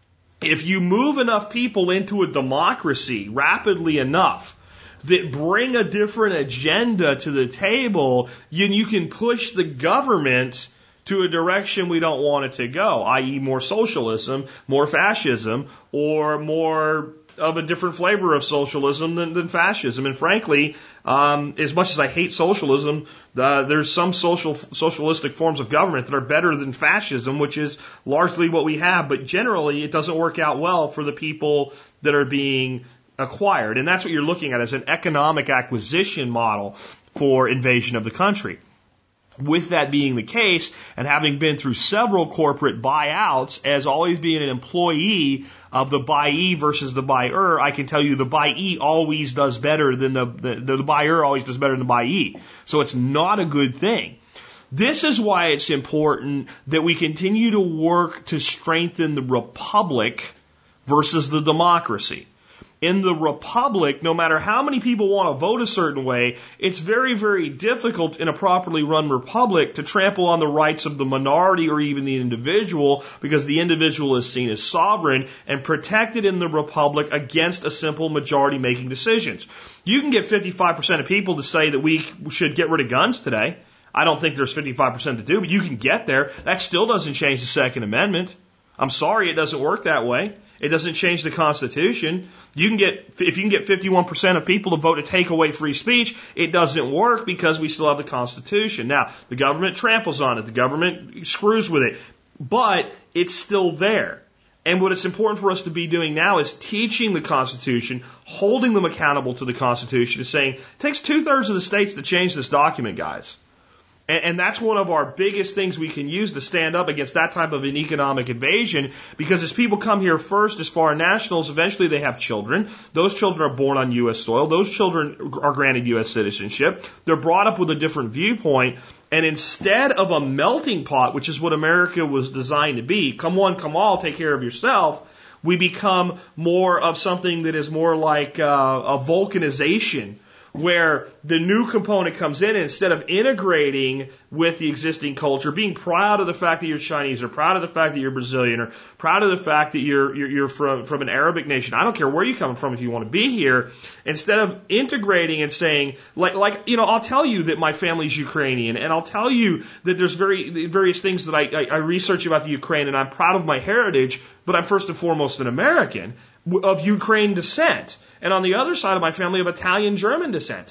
Speaker 2: if you move enough people into a democracy rapidly enough that bring a different agenda to the table, you can push the government to a direction we don't want it to go, i.e. more socialism, more fascism, or more of a different flavor of socialism than fascism. And frankly, as much as I hate socialism, there's some socialistic forms of government that are better than fascism, which is largely what we have. But generally, it doesn't work out well for the people that are being acquired. And that's what you're looking at as an economic acquisition model for invasion of the country. With that being the case, and having been through several corporate buyouts, as always being an employee of the buyee versus the buyer, I can tell you the buyee always does better than the buyer always does better than the buyee. So it's not a good thing. This is why it's important that we continue to work to strengthen the republic versus the democracy. In the republic, no matter how many people want to vote a certain way, it's very, very difficult in a properly run republic to trample on the rights of the minority or even the individual, because the individual is seen as sovereign and protected in the republic against a simple majority making decisions. You can get 55% of people to say that we should get rid of guns today. I don't think there's 55% to do, but you can get there. That still doesn't change the Second Amendment. I'm sorry, it doesn't work that way. It doesn't change the Constitution. If you can get 51% of people to vote to take away free speech, it doesn't work because we still have the Constitution. Now, the government tramples on it. The government screws with it. But it's still there. And what it's important for us to be doing now is teaching the Constitution, holding them accountable to the Constitution, and saying, it takes 2/3 of the states to change this document, guys. And that's one of our biggest things we can use to stand up against that type of an economic invasion, because as people come here first as foreign nationals, eventually they have children. Those children are born on U.S. soil. Those children are granted U.S. citizenship. They're brought up with a different viewpoint. And instead of a melting pot, which is what America was designed to be, come one, come all, take care of yourself, we become more of something that is more like a Vulcanization, where the new component comes in, and instead of integrating with the existing culture, being proud of the fact that you're Chinese, or proud of the fact that you're Brazilian, or proud of the fact that you're from an Arabic nation. I don't care where you come from if you want to be here. Instead of integrating and saying, I'll tell you that my family's Ukrainian, and I'll tell you that there's various things that I research about the Ukraine, and I'm proud of my heritage, but I'm first and foremost an American of Ukraine descent. And on the other side of my family of Italian-German descent.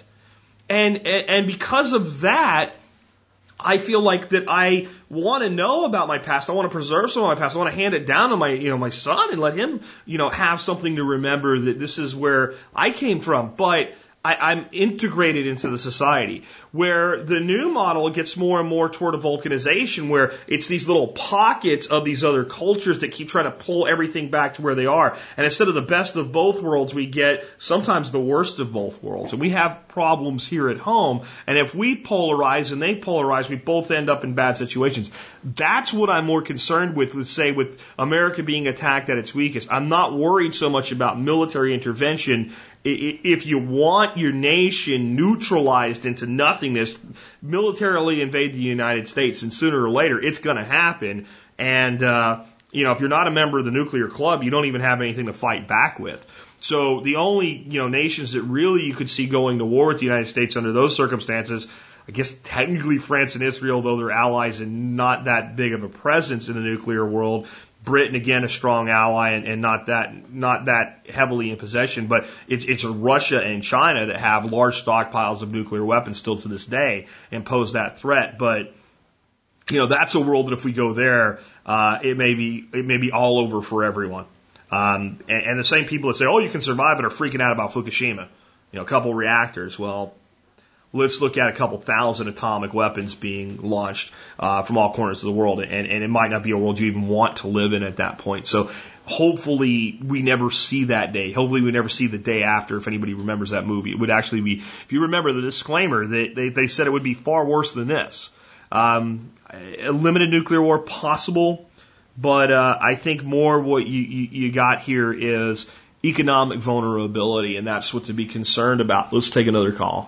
Speaker 2: And because of that, I feel like that I want to know about my past. I want to preserve some of my past. I want to hand it down to my son and let him, have something to remember that this is where I came from. But I'm integrated into the society. Where the new model gets more and more toward a vulcanization, where it's these little pockets of these other cultures that keep trying to pull everything back to where they are. And instead of the best of both worlds, we get sometimes the worst of both worlds. And we have problems here at home. And if we polarize and they polarize, we both end up in bad situations. That's what I'm more concerned with, let's say, with America being attacked at its weakest. I'm not worried so much about military intervention. If you want your nation neutralized into nothingness, militarily invade the United States, and sooner or later it's going to happen. And if you're not a member of the nuclear club, you don't even have anything to fight back with. So the only nations that really you could see going to war with the United States under those circumstances, I guess technically France and Israel, though they're allies and not that big of a presence in the nuclear world. Britain, again, a strong ally and not that heavily in possession, but it's Russia and China that have large stockpiles of nuclear weapons still to this day and pose that threat. But that's a world that if we go there, it may be all over for everyone. And the same people that say, "Oh, you can survive it," are freaking out about Fukushima. A couple reactors. Well, let's look at a couple thousand atomic weapons being launched from all corners of the world, and it might not be a world you even want to live in at that point. So hopefully we never see that day. Hopefully we never see the day after, if anybody remembers that movie. It would actually be, if you remember the disclaimer, they said it would be far worse than this. A limited nuclear war possible, but I think more what you got here is economic vulnerability, and that's what to be concerned about. Let's take another call.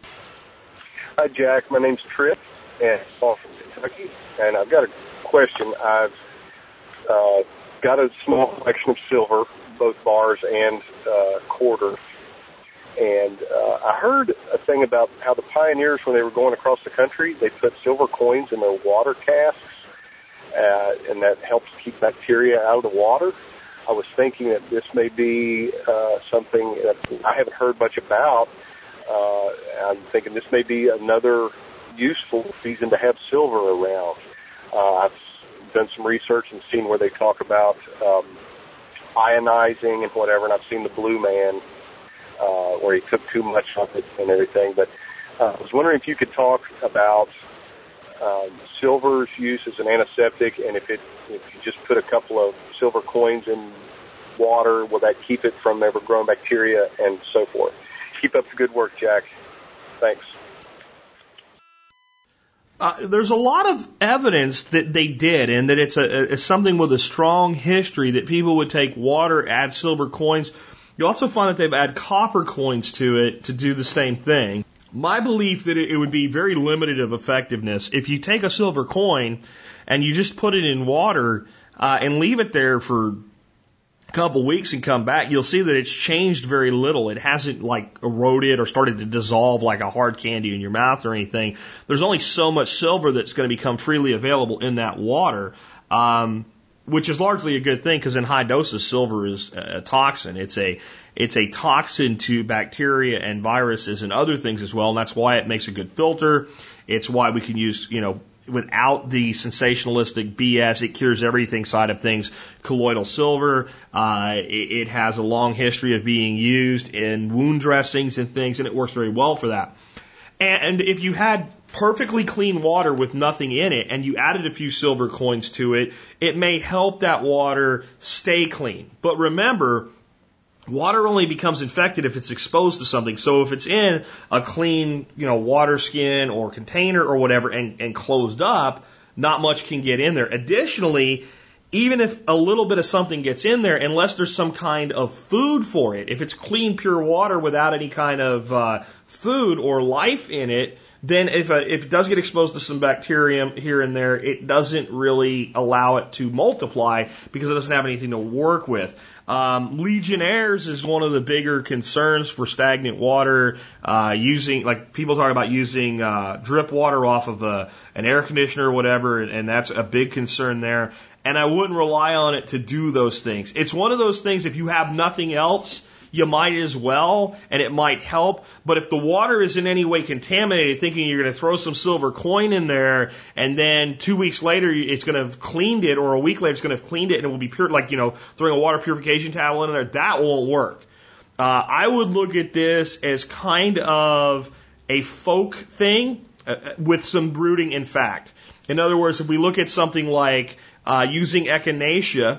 Speaker 9: Hi, Jack. My name's Trip, and I'm from Kentucky, and I've got a question. I've got a small collection of silver, both bars and quarters, and I heard a thing about how the pioneers, when they were going across the country, they put silver coins in their water casks, and that helps keep bacteria out of the water. I was thinking that this may be something that I haven't heard much about. I'm thinking this may be another useful reason to have silver around. I've done some research and seen where they talk about ionizing and whatever, and I've seen the Blue Man where he took too much of it and everything. But I was wondering if you could talk about silver's use as an antiseptic, and if you just put a couple of silver coins in water, will that keep it from ever growing bacteria and so forth? Keep up the good work, Jack. Thanks.
Speaker 2: There's a lot of evidence that they did, and that it's something with a strong history that people would take water, add silver coins. You also find that they've added copper coins to it to do the same thing. My belief that it would be very limited of effectiveness. If you take a silver coin and you just put it in water and leave it there for couple weeks and come back, you'll see that it's changed very little. It hasn't eroded or started to dissolve like a hard candy in your mouth or anything. There's only so much silver that's going to become freely available in that water, which is largely a good thing because in high doses, silver is a toxin. It's a toxin to bacteria and viruses and other things as well, and that's why it makes a good filter. It's why we can use, without the sensationalistic BS, it cures everything side of things, colloidal silver. It has a long history of being used in wound dressings and things, and it works very well for that. And if you had perfectly clean water with nothing in it and you added a few silver coins to it, it may help that water stay clean. But remember, water only becomes infected if it's exposed to something. So if it's in a clean, water skin or container or whatever and closed up, not much can get in there. Additionally, even if a little bit of something gets in there, unless there's some kind of food for it, if it's clean, pure water without any kind of food or life in it, then if it does get exposed to some bacterium here and there, it doesn't really allow it to multiply because it doesn't have anything to work with. Legionnaires is one of the bigger concerns for stagnant water, people talk about using drip water off of an air conditioner or whatever, and that's a big concern there. And I wouldn't rely on it to do those things. It's one of those things, if you have nothing else, you might as well, and it might help. But if the water is in any way contaminated, thinking you're going to throw some silver coin in there, and then 2 weeks later it's going to have cleaned it, or a week later it's going to have cleaned it, and it will be pure, throwing a water purification towel in there, that won't work. I would look at this as kind of a folk thing with some rooting in fact. In other words, if we look at something like using echinacea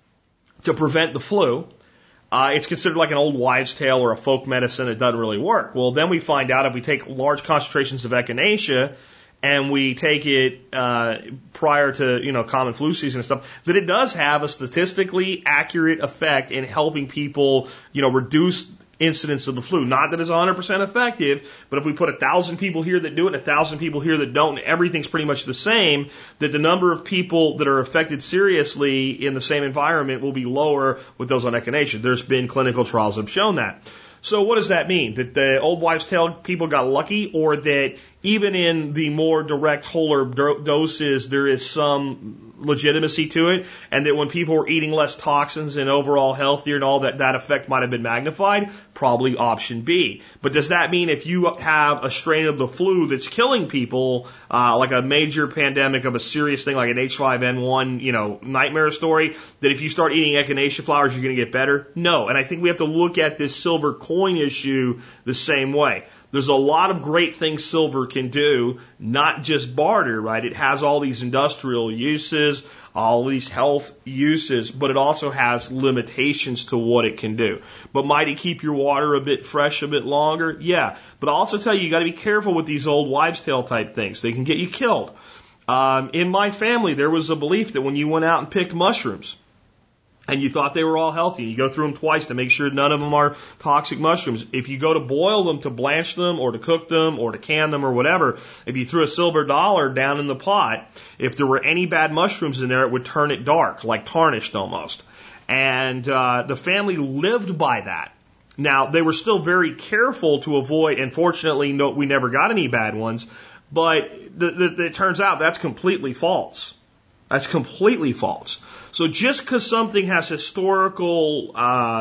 Speaker 2: to prevent the flu, it's considered like an old wives' tale or a folk medicine. It doesn't really work. Well, then we find out if we take large concentrations of echinacea and we take it prior to common flu season and stuff, that it does have a statistically accurate effect in helping people reduce incidence of the flu. Not that it's 100% effective, but if we put 1,000 people here that do it and 1,000 people here that don't, and everything's pretty much the same, that the number of people that are affected seriously in the same environment will be lower with those on echinacea. There's been clinical trials that have shown that. So what does that mean? That the old wives' tale people got lucky, or that even in the more direct whole herb doses there is some legitimacy to it, and that when people were eating less toxins and overall healthier and all that effect might have been magnified? Probably option B. But does that mean if you have a strain of the flu that's killing people, like a major pandemic of a serious thing like an H5N1, nightmare story, that if you start eating echinacea flowers you're going to get better? No. And I think we have to look at this silver coin issue the same way. There's a lot of great things silver can do, not just barter, right? It has all these industrial uses, all these health uses, but it also has limitations to what it can do. But might it keep your water a bit fresh a bit longer? Yeah. But I'll also tell you, you got to be careful with these old wives' tale type things. They can get you killed. In my family, there was a belief that when you went out and picked mushrooms, and you thought they were all healthy, you go through them twice to make sure none of them are toxic mushrooms. If you go to boil them, to blanch them, or to cook them, or to can them, or whatever, if you threw a silver dollar down in the pot, if there were any bad mushrooms in there, it would turn it dark, like tarnished almost. And the family lived by that. Now, they were still very careful to avoid, and fortunately, we never got any bad ones, but it turns out that's completely false. That's completely false. So just because something has historical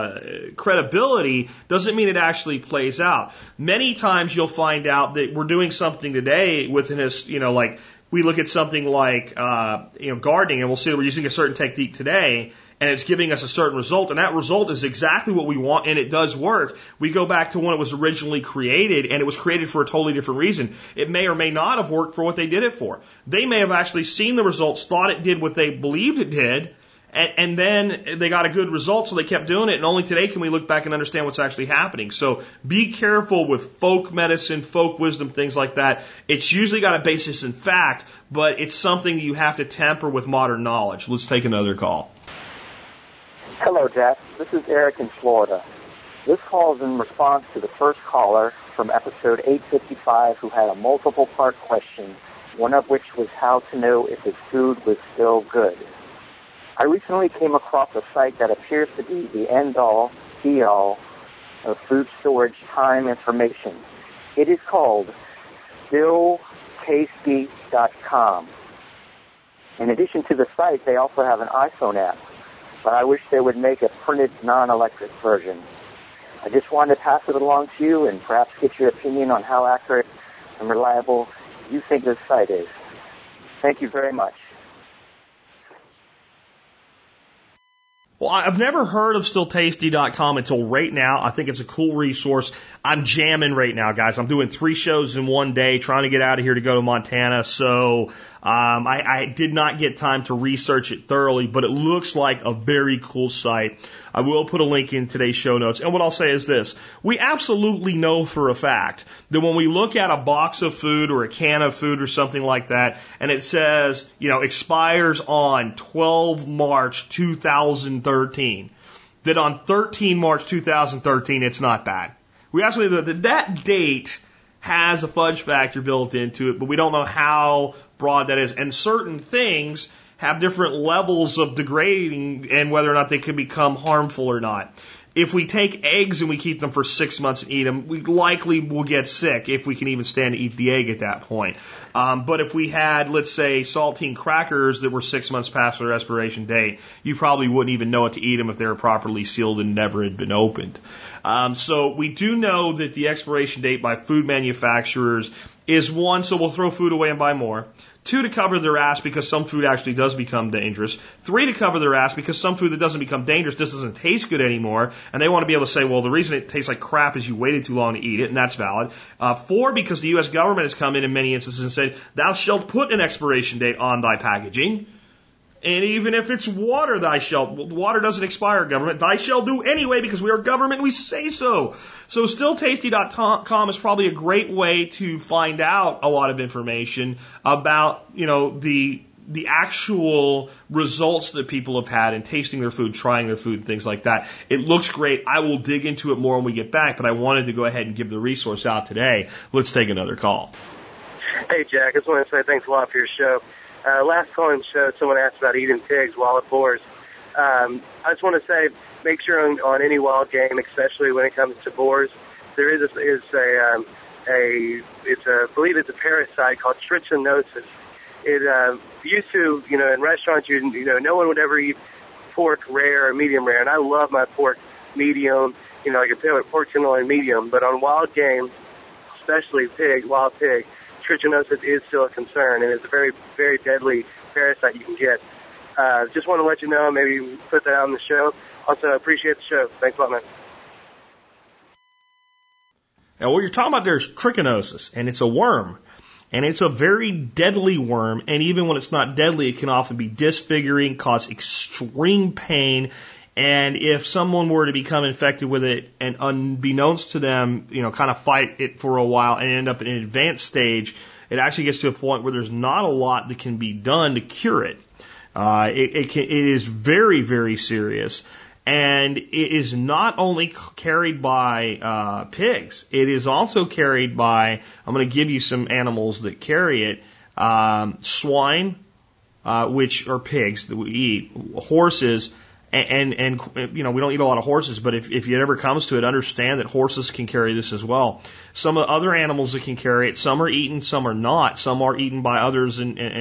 Speaker 2: credibility doesn't mean it actually plays out. Many times you'll find out that we're doing something today with like we look at something like gardening, and we'll see that we're using a certain technique today, and it's giving us a certain result, and that result is exactly what we want, and it does work. We go back to when it was originally created, and it was created for a totally different reason. It may or may not have worked for what they did it for. They may have actually seen the results, thought it did what they believed it did, and then they got a good result, so they kept doing it, and only today can we look back and understand what's actually happening. So be careful with folk medicine, folk wisdom, things like that. It's usually got a basis in fact, but it's something you have to temper with modern knowledge. Let's take another call.
Speaker 10: Hello, Jack. This is Eric in Florida. This call is in response to the first caller from episode 855 who had a multiple-part question, one of which was how to know if his food was still good. I recently came across a site that appears to be the end-all, be-all of food storage time information. It is called stilltasty.com. In addition to the site, they also have an iPhone app, but I wish they would make a printed non-electric version. I just wanted to pass it along to you and perhaps get your opinion on how accurate and reliable you think this site is. Thank you very much.
Speaker 2: Well, I've never heard of stilltasty.com until right now. I think it's a cool resource. I'm jamming right now, guys. I'm doing 3 shows in one day, trying to get out of here to go to Montana. So I did not get time to research it thoroughly, but it looks like a very cool site. I will put a link in today's show notes. And what I'll say is this. We absolutely know for a fact that when we look at a box of food or a can of food or something like that, and it says, expires on 12 March 2013, that on 13 March 2013, it's not bad. We actually know that date has a fudge factor built into it, but we don't know how broad that is. And certain things have different levels of degrading and whether or not they can become harmful or not. If we take eggs and we keep them for 6 months and eat them, we likely will get sick if we can even stand to eat the egg at that point. But if we had, let's say, saltine crackers that were 6 months past their expiration date, you probably wouldn't even know what to eat them if they were properly sealed and never had been opened. So we do know that the expiration date by food manufacturers is one, so we'll throw food away and buy more. 2, to cover their ass because some food actually does become dangerous. 3, to cover their ass because some food that doesn't become dangerous just doesn't taste good anymore. And they want to be able to say, well, the reason it tastes like crap is you waited too long to eat it, and that's valid. 4, because the U.S. government has come in many instances and said, thou shalt put an expiration date on thy packaging. And even if it's water, water doesn't expire, government. Thy shall do anyway because we are government and we say so. So stilltasty.com is probably a great way to find out a lot of information about, the actual results that people have had in tasting their food, trying their food, things like that. It looks great. I will dig into it more when we get back, but I wanted to go ahead and give the resource out today. Let's take another call.
Speaker 11: Hey, Jack. I just want to say thanks a lot for your show. Last call in show, someone asked about eating pigs, wild boars. I just want to say, make sure on any wild game, especially when it comes to boars, there is I believe it's a parasite called trichinosis. It used to, in restaurants, no one would ever eat pork rare or medium rare, and I love my pork medium, like a pork tenderloin medium. But on wild game, especially wild pig, trichinosis is still a concern, and it's a very, very deadly parasite you can get. Just want to let you know, maybe put that on the show. Also, I appreciate the show. Thanks a lot, man.
Speaker 2: Now, what you're talking about there is trichinosis, and it's a worm. And it's a very deadly worm, and even when it's not deadly, it can often be disfiguring, cause extreme pain, and if someone were to become infected with it and unbeknownst to them, kind of fight it for a while and end up in an advanced stage, it actually gets to a point where there's not a lot that can be done to cure it. It is very, very serious. And it is not only carried by pigs, it is also carried by, I'm going to give you some animals that carry it, swine, which are pigs that we eat, horses, and we don't eat a lot of horses, but if it ever comes to it, understand that horses can carry this as well. Some of the other animals that can carry it, some are eaten, some are not. Some are eaten by others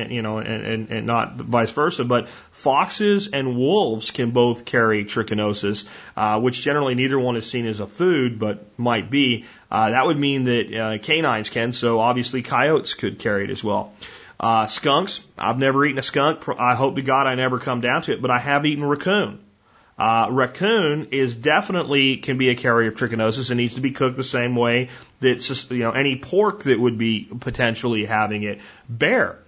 Speaker 2: and not vice versa. But foxes and wolves can both carry trichinosis, which generally neither one is seen as a food, but might be. That would mean that canines can, so obviously coyotes could carry it as well. Skunks, I've never eaten a skunk. I hope to God I never come down to it, but I have eaten raccoon. Raccoon can be a carrier of trichinosis and needs to be cooked the same way that, any pork that would be potentially having it. Bear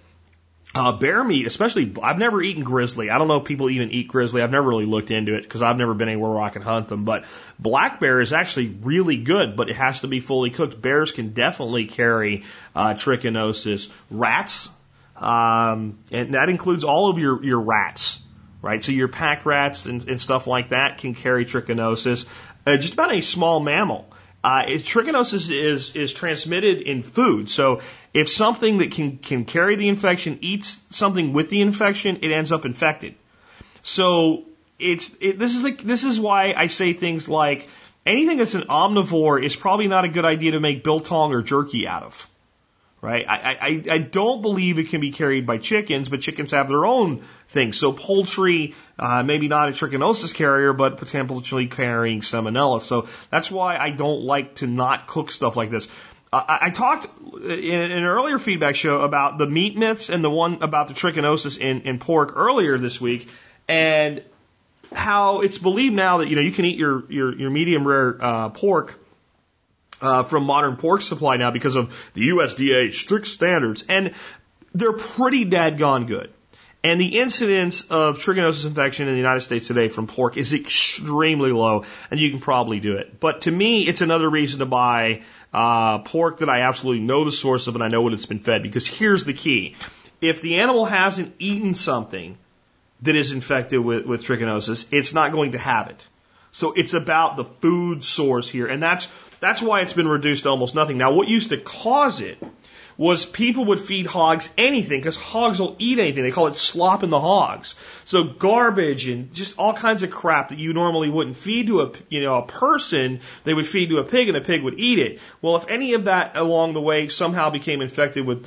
Speaker 2: meat, especially, I've never eaten grizzly. I don't know if people even eat grizzly. I've never really looked into it because I've never been anywhere where I can hunt them. But black bear is actually really good, but it has to be fully cooked. Bears can definitely carry trichinosis. Rats, and that includes all of your rats, right? So your pack rats and stuff like that can carry trichinosis. Just about any small mammal. Trichinosis is transmitted in food. So if something that can carry the infection eats something with the infection, it ends up infected. So this is why I say things like anything that's an omnivore is probably not a good idea to make biltong or jerky out of. Right? I don't believe it can be carried by chickens, but chickens have their own things. So poultry, maybe not a trichinosis carrier, but potentially carrying salmonella. So that's why I don't like to not cook stuff like this. I talked in an earlier feedback show about the meat myths and the one about the trichinosis in pork earlier this week, and how it's believed now that, you can eat your medium rare pork from Modern Pork Supply now because of the USDA strict standards, and they're pretty dadgone good. And the incidence of trichinosis infection in the United States today from pork is extremely low, and you can probably do it. But to me, it's another reason to buy pork that I absolutely know the source of and I know what it's been fed, because here's the key. If the animal hasn't eaten something that is infected with trichinosis, it's not going to have it. So it's about the food source here, and that's why it's been reduced to almost nothing. Now, what used to cause it was people would feed hogs anything, because hogs will eat anything. They call it slop in the hogs. So garbage and just all kinds of crap that you normally wouldn't feed to a person, they would feed to a pig, and a pig would eat it. Well, if any of that along the way somehow became infected with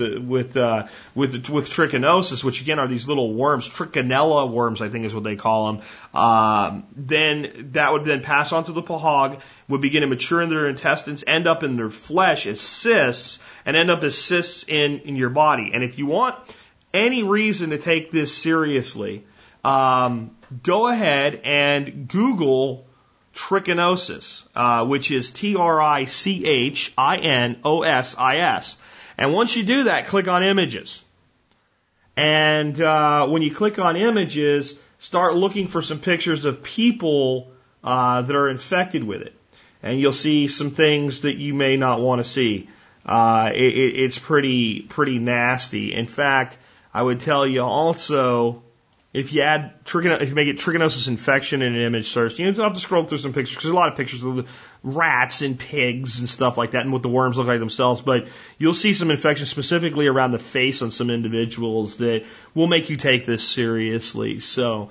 Speaker 2: trichinosis, which again are these little worms, trichinella worms, I think is what they call them, then that would then pass on to the hog, would begin to mature in their intestines, end up in their flesh as cysts, and end up as cysts in your body. And if you want any reason to take this seriously, go ahead and Google trichinosis, which is TRICHINOSIS. And once you do that, click on images. And when you click on images, start looking for some pictures of people that are infected with it. And you'll see some things that you may not want to see. It's pretty nasty. In fact, I would tell you also, if you make it trichinosis infection in an image search, you don't have to scroll through some pictures, because there's a lot of pictures of rats and pigs and stuff like that, and what the worms look like themselves. But you'll see some infections specifically around the face on some individuals that will make you take this seriously. So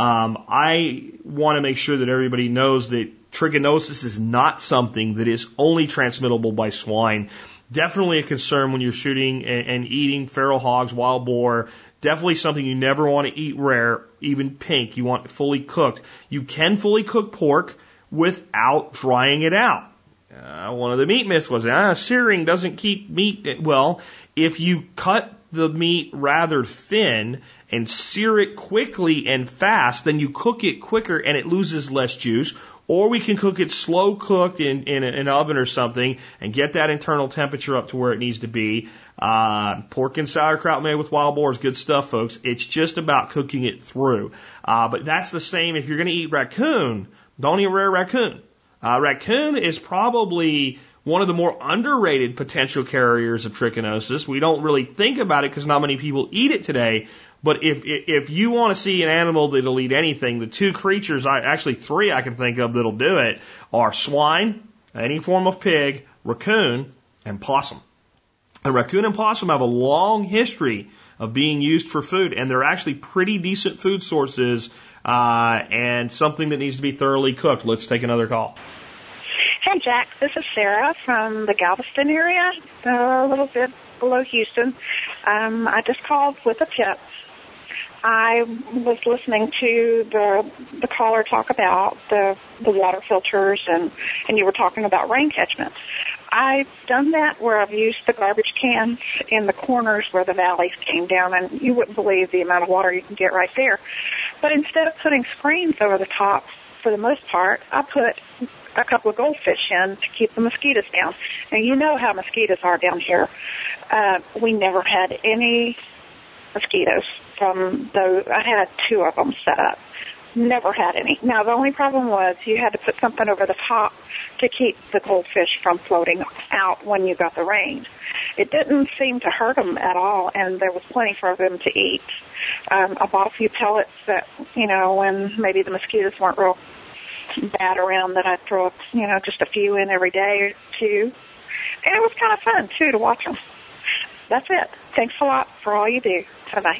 Speaker 2: I want to make sure that everybody knows that trichinosis is not something that is only transmittable by swine. Definitely a concern when you're shooting and eating feral hogs, wild boar. Definitely something you never want to eat rare, even pink. You want it fully cooked. You can fully cook pork without drying it out. One of the meat myths was, searing doesn't keep meat. Well, if you cut the meat rather thin and sear it quickly and fast, then you cook it quicker and it loses less juice. Or we can cook it slow cooked in an oven or something and get that internal temperature up to where it needs to be. Pork and sauerkraut made with wild boar is good stuff, folks. It's just about cooking it through. But that's the same if you're going to eat raccoon. Don't eat rare raccoon. Raccoon is probably one of the more underrated potential carriers of trichinosis. We don't really think about it because not many people eat it today. But if you want to see an animal that'll eat anything, the two creatures, actually three I can think of that'll do it, are swine, any form of pig, raccoon, and possum. And raccoon and possum have a long history of being used for food, and they're actually pretty decent food sources, and something that needs to be thoroughly cooked. Let's take another call.
Speaker 12: Hey, Jack. This is Sarah from the Galveston area, a little bit below Houston. I just called with a tip. I was listening to the caller talk about the water filters, and you were talking about rain catchment. I've done that where I've used the garbage cans in the corners where the valleys came down, and you wouldn't believe the amount of water you can get right there. But instead of putting screens over the top, for the most part, I put a couple of goldfish in to keep the mosquitoes down. Now, you know how mosquitoes are down here. We never had any mosquitoes from those. I had 2 of them set up. Never had any. Now, the only problem was you had to put something over the top to keep the goldfish from floating out when you got the rain. It didn't seem to hurt them at all, and there was plenty for them to eat. I bought a few pellets that, when maybe the mosquitoes weren't real bad around, that I'd throw, just a few in every day or 2. And it was kind of fun, too, to watch them. That's it. Thanks a lot for all you do. Bye-bye.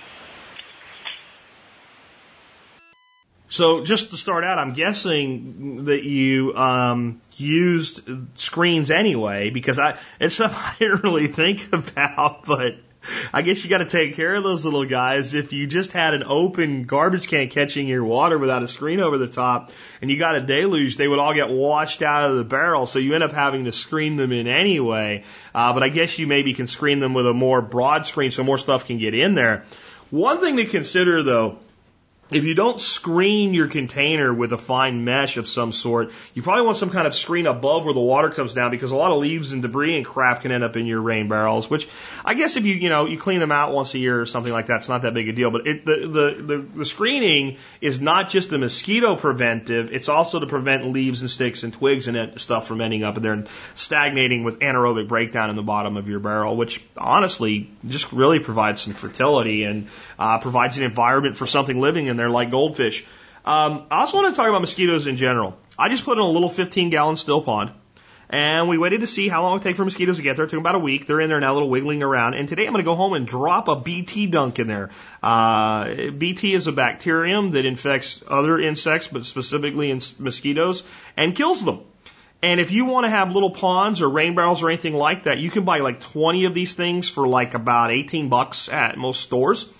Speaker 2: So just to start out, I'm guessing that you used screens anyway, because it's something I didn't really think about, but I guess you got to take care of those little guys. If you just had an open garbage can catching your water without a screen over the top and you got a deluge, they would all get washed out of the barrel, so you end up having to screen them in anyway. But I guess you maybe can screen them with a more broad screen so more stuff can get in there. One thing to consider, though, if you don't screen your container with a fine mesh of some sort, you probably want some kind of screen above where the water comes down, because a lot of leaves and debris and crap can end up in your rain barrels, which I guess if you clean them out once a year or something like that, it's not that big a deal. But the screening is not just the mosquito preventive, it's also to prevent leaves and sticks and twigs and stuff from ending up in there and stagnating with anaerobic breakdown in the bottom of your barrel, which honestly just really provides some fertility and provides an environment for something living in there like goldfish. I also want to talk about mosquitoes in general. I just put in a little 15-gallon still pond, and we waited to see how long it would take for mosquitoes to get there. It took about a week. They're in there now, a little wiggling around. And today I'm going to go home and drop a BT dunk in there. BT is a bacterium that infects other insects, but specifically in mosquitoes, and kills them. And if you want to have little ponds or rain barrels or anything like that, you can buy like 20 of these things for like about $18 at most stores.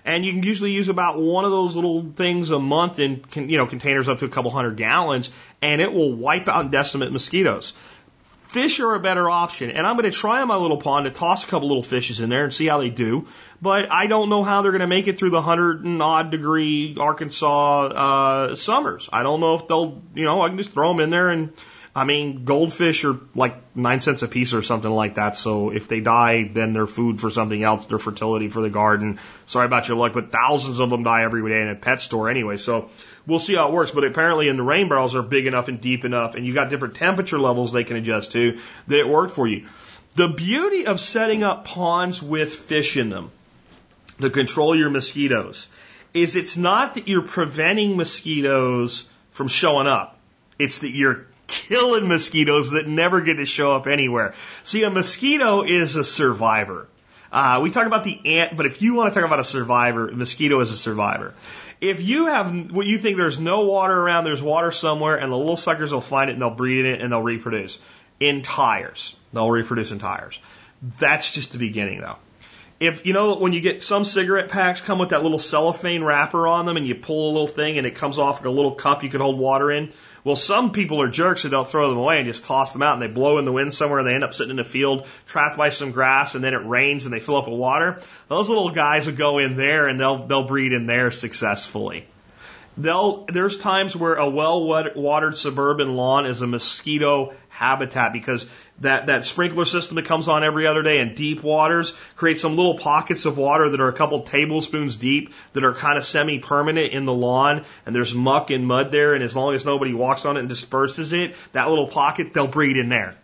Speaker 2: And you can usually use about one of those little things a month in, containers up to a couple 100 gallons, and it will wipe out and decimate mosquitoes. Fish are a better option, and I'm going to try in my little pond to toss a couple little fishes in there and see how they do. But I don't know how they're going to make it through the 100 and odd degree Arkansas summers. I don't know if they'll, I can just throw them in there, and I mean, goldfish are like 9 cents a piece or something like that. So if they die, then they're food for something else. They're fertility for the garden. Sorry about your luck, but thousands of them die every day in a pet store anyway. So we'll see how it works. But apparently in the rain barrels are big enough and deep enough, and you got different temperature levels they can adjust to, that it worked for you. The beauty of setting up ponds with fish in them to control your mosquitoes is it's not that you're preventing mosquitoes from showing up. It's that you're killing mosquitoes that never get to show up anywhere. See, a mosquito is a survivor. We talk about the ant, but if you want to talk about a survivor, a mosquito is a survivor. If you have what you think there's no water around, there's water somewhere, and the little suckers will find it and they'll breed in it and they'll reproduce in tires. They'll reproduce in tires. That's just the beginning, though. If when you get some cigarette packs come with that little cellophane wrapper on them, and you pull a little thing and it comes off like a little cup you can hold water in. Well, some people are jerks that don't throw them away and just toss them out, and they blow in the wind somewhere, and they end up sitting in a field trapped by some grass, and then it rains and they fill up with water. Those little guys will go in there and they'll breed in there successfully. There's times where a well-watered suburban lawn is a mosquito habitat, because that sprinkler system that comes on every other day in deep waters creates some little pockets of water that are a couple tablespoons deep that are kind of semi-permanent in the lawn, and there's muck and mud there, and as long as nobody walks on it and disperses it, that little pocket, they'll breed in there.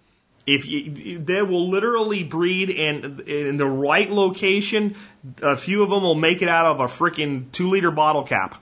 Speaker 2: They will literally breed in the right location. A few of them will make it out of a freaking 2-liter bottle cap.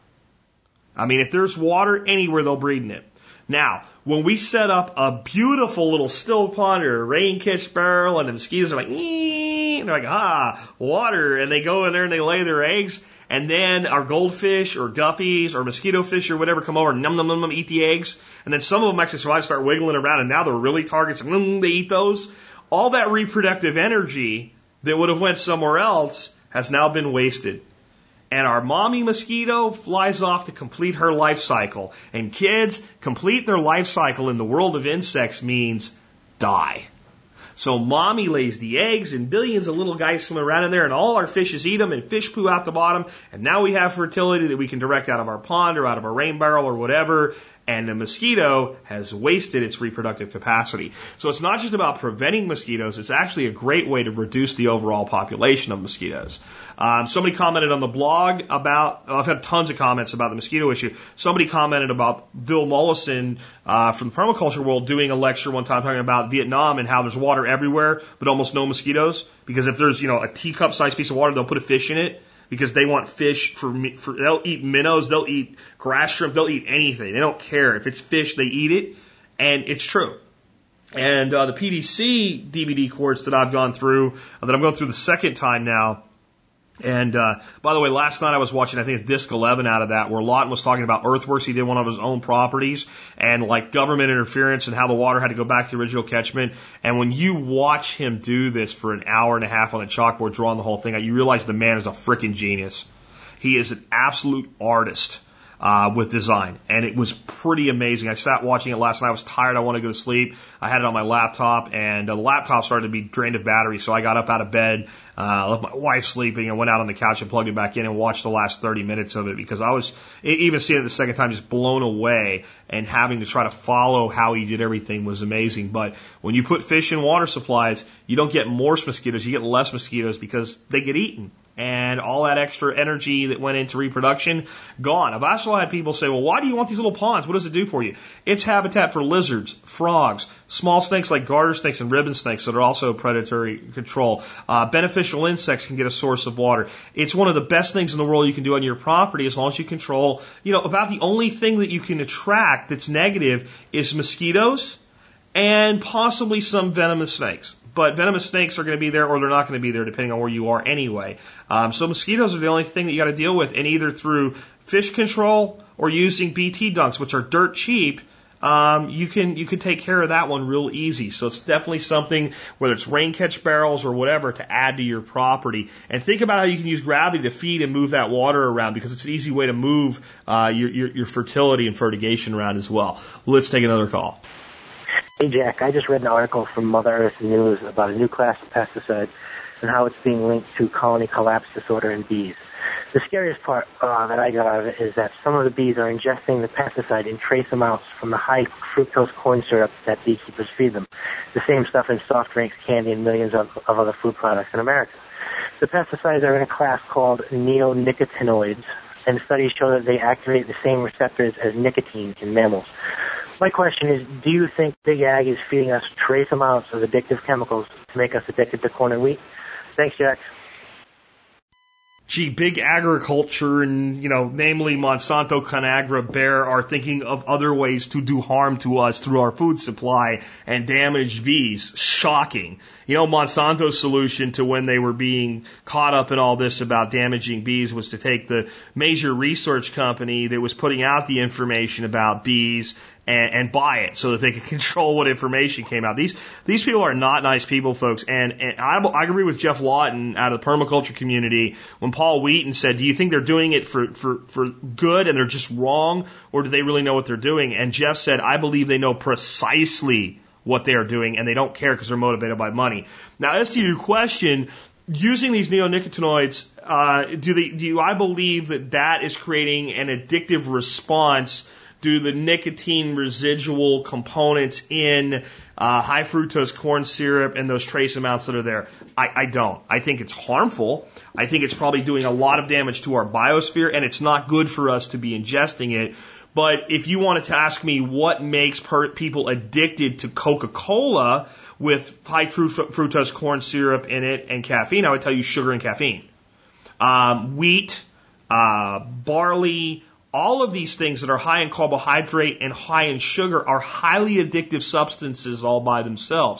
Speaker 2: I mean, if there's water anywhere, they'll breed in it. Now, when we set up a beautiful little still pond or a rain-catch barrel, and the mosquitoes are like, and they're like, water, and they go in there and they lay their eggs, and then our goldfish or guppies or mosquito fish or whatever come over and num, eat the eggs, and then some of them actually survive, start wiggling around, and now they're really targets, and they eat those. All that reproductive energy that would have went somewhere else has now been wasted. And our mommy mosquito flies off to complete her life cycle. And kids, complete their life cycle in the world of insects means die. So mommy lays the eggs, and billions of little guys swim around in there, and all our fishes eat them, and fish poo out the bottom. And now we have fertility that we can direct out of our pond or out of our rain barrel or whatever. And the mosquito has wasted its reproductive capacity. So it's not just about preventing mosquitoes, it's actually a great way to reduce the overall population of mosquitoes. Somebody commented on the blog I've had tons of comments about the mosquito issue. Somebody commented about Bill Mollison from the permaculture world doing a lecture one time talking about Vietnam and how there's water everywhere, but almost no mosquitoes. Because if there's, a teacup-sized piece of water, they'll put a fish in it. Because they want fish they'll eat minnows, they'll eat grass shrimp, they'll eat anything. They don't care. If it's fish, they eat it. And it's true. And the PDC DVD course that I've gone through, that I'm going through the second time now. And by the way, last night I was watching, I think it's Disc 11 out of that, where Lawton was talking about earthworks. He did one of his own properties, and like government interference and how the water had to go back to the original catchment. And when you watch him do this for an hour and a half on the chalkboard, drawing the whole thing out, you realize the man is a freaking genius. He is an absolute artist with design, and it was pretty amazing. I sat watching it last night. I was tired. I wanted to go to sleep. I had it on my laptop, and the laptop started to be drained of battery, so I got up out of bed, left my wife sleeping, and went out on the couch and plugged it back in and watched the last 30 minutes of it, because I was, even seeing it the second time, just blown away, and having to try to follow how he did everything was amazing. But when you put fish in water supplies, you don't get more mosquitoes, you get less mosquitoes, because they get eaten. And all that extra energy that went into reproduction, gone. I've also had people say, well, why do you want these little ponds? What does it do for you? It's habitat for lizards, frogs, small snakes like garter snakes and ribbon snakes that are also predatory control. Beneficial insects can get a source of water. It's one of the best things in the world you can do on your property, as long as you control, about the only thing that you can attract that's negative is mosquitoes and possibly some venomous snakes. But venomous snakes are going to be there, or they're not going to be there, depending on where you are anyway. So mosquitoes are the only thing that you got to deal with, and either through fish control or using BT dunks, which are dirt cheap, you can take care of that one real easy. So it's definitely something, whether it's rain catch barrels or whatever, to add to your property. And think about how you can use gravity to feed and move that water around, because it's an easy way to move your fertility and fertigation around as well. Let's take another call.
Speaker 13: Hey, Jack, I just read an article from Mother Earth News about a new class of pesticide and how it's being linked to colony collapse disorder in bees. The scariest part that I got out of it is that some of the bees are ingesting the pesticide in trace amounts from the high fructose corn syrup that beekeepers feed them, the same stuff in soft drinks, candy, and millions of other food products in America. The pesticides are in a class called neonicotinoids, and studies show that they activate the same receptors as nicotine in mammals. My question is, do you think Big Ag is feeding us trace amounts of addictive chemicals to make us addicted to corn and wheat? Thanks, Jack.
Speaker 2: Gee, big agriculture and, namely Monsanto, Conagra, Bayer are thinking of other ways to do harm to us through our food supply and damage bees. Shocking. Monsanto's solution to when they were being caught up in all this about damaging bees was to take the major research company that was putting out the information about bees and buy it so that they could control what information came out. These people are not nice people, folks. And I agree with Jeff Lawton out of the permaculture community when Paul Wheaton said, do you think they're doing it for good and they're just wrong, or do they really know what they're doing? And Jeff said, I believe they know precisely what they are doing and they don't care because they're motivated by money. Now, as to your question, using these neonicotinoids, I believe that is creating an addictive response due to the nicotine residual components in high fructose corn syrup and those trace amounts that are there? I don't. I think it's harmful. I think it's probably doing a lot of damage to our biosphere, and it's not good for us to be ingesting it. But if you wanted to ask me what makes people addicted to Coca-Cola with high fructose corn syrup in it and caffeine, I would tell you sugar and caffeine. Wheat, barley, all of these things that are high in carbohydrate and high in sugar are highly addictive substances all by themselves.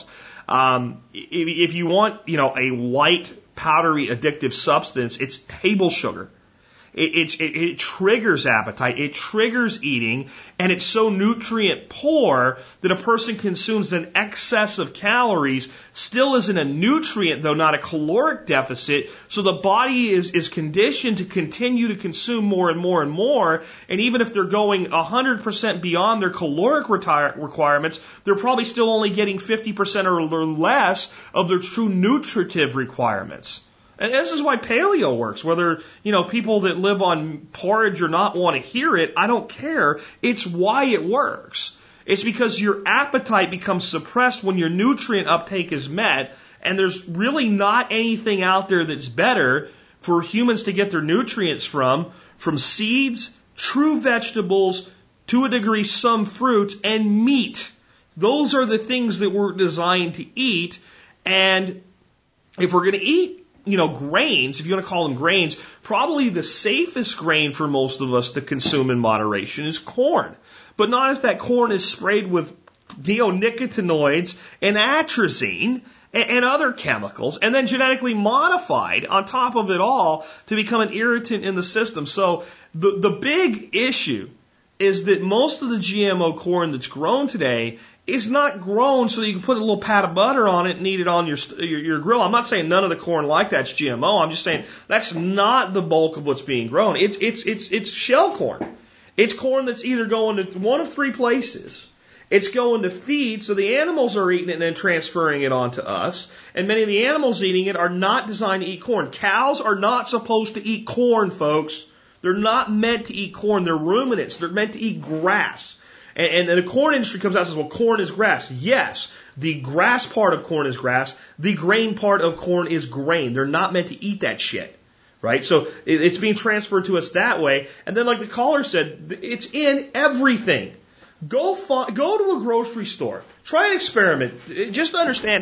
Speaker 2: If you want, a white, powdery, addictive substance, it's table sugar. It triggers appetite, it triggers eating, and it's so nutrient poor that a person consumes an excess of calories, still isn't a nutrient, though not a caloric deficit, so the body is conditioned to continue to consume more and more and more, and even if they're going 100% beyond their caloric requirements, they're probably still only getting 50% or less of their true nutritive requirements. And this is why paleo works. Whether, people that live on porridge or not want to hear it, I don't care. It's why it works. It's because your appetite becomes suppressed when your nutrient uptake is met, and there's really not anything out there that's better for humans to get their nutrients from seeds, true vegetables, to a degree some fruits, and meat. Those are the things that we're designed to eat, and if we're going to eat grains, if you want to call them grains, probably the safest grain for most of us to consume in moderation is corn. But not if that corn is sprayed with neonicotinoids and atrazine and other chemicals, and then genetically modified on top of it all to become an irritant in the system. So the big issue is that most of the GMO corn that's grown today is not grown so that you can put a little pat of butter on it and eat it on your grill. I'm not saying none of the corn like that's GMO. I'm just saying that's not the bulk of what's being grown. It's shell corn. It's corn that's either going to one of three places. It's going to feed, so the animals are eating it and then transferring it on to us. And many of the animals eating it are not designed to eat corn. Cows are not supposed to eat corn, folks. They're not meant to eat corn. They're ruminants. They're meant to eat grass. And the corn industry comes out and says, well, corn is grass. Yes, the grass part of corn is grass. The grain part of corn is grain. They're not meant to eat that shit, right? So it's being transferred to us that way. And then like the caller said, it's in everything. Go to a grocery store. Try an experiment. Just understand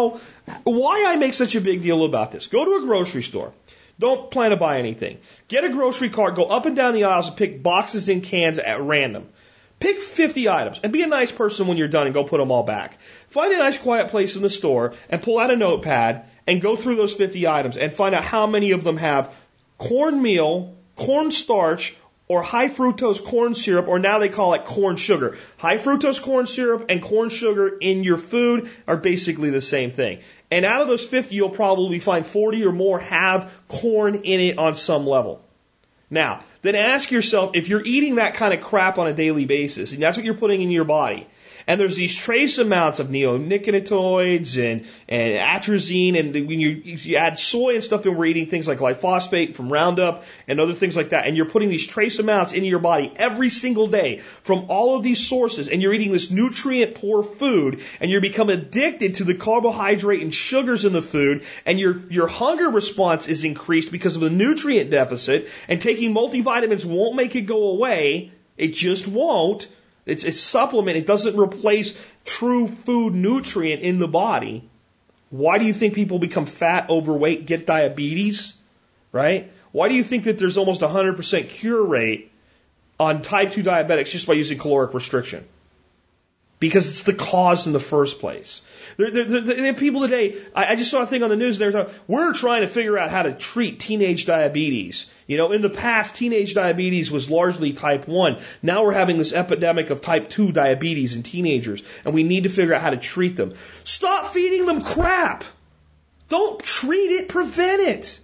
Speaker 2: why I make such a big deal about this. Go to a grocery store. Don't plan to buy anything. Get a grocery cart, go up and down the aisles and pick boxes and cans at random. Pick 50 items and be a nice person when you're done and go put them all back. Find a nice quiet place in the store and pull out a notepad and go through those 50 items and find out how many of them have cornmeal, cornstarch, or high fructose corn syrup, or now they call it corn sugar. High fructose corn syrup and corn sugar in your food are basically the same thing. And out of those 50, you'll probably find 40 or more have corn in it on some level. Now, then ask yourself, if you're eating that kind of crap on a daily basis, and that's what you're putting in your body, and there's these trace amounts of neonicotinoids and atrazine, and when you add soy and stuff, and we're eating things like glyphosate from Roundup and other things like that, and you're putting these trace amounts into your body every single day from all of these sources, and you're eating this nutrient-poor food, and you become addicted to the carbohydrate and sugars in the food, and your hunger response is increased because of the nutrient deficit, and taking multivitamins won't make it go away. It just won't. It's a supplement. It doesn't replace true food nutrient in the body. Why do you think people become fat, overweight, get diabetes? Right? Why do you think that there's almost 100% cure rate on type 2 diabetics just by using caloric restriction? Because it's the cause in the first place. There are people today, I just saw a thing on the news, and they were talking, we're trying to figure out how to treat teenage diabetes. You know, in the past, teenage diabetes was largely type 1. Now we're having this epidemic of type 2 diabetes in teenagers, and we need to figure out how to treat them. Stop feeding them crap. Don't treat it, prevent it.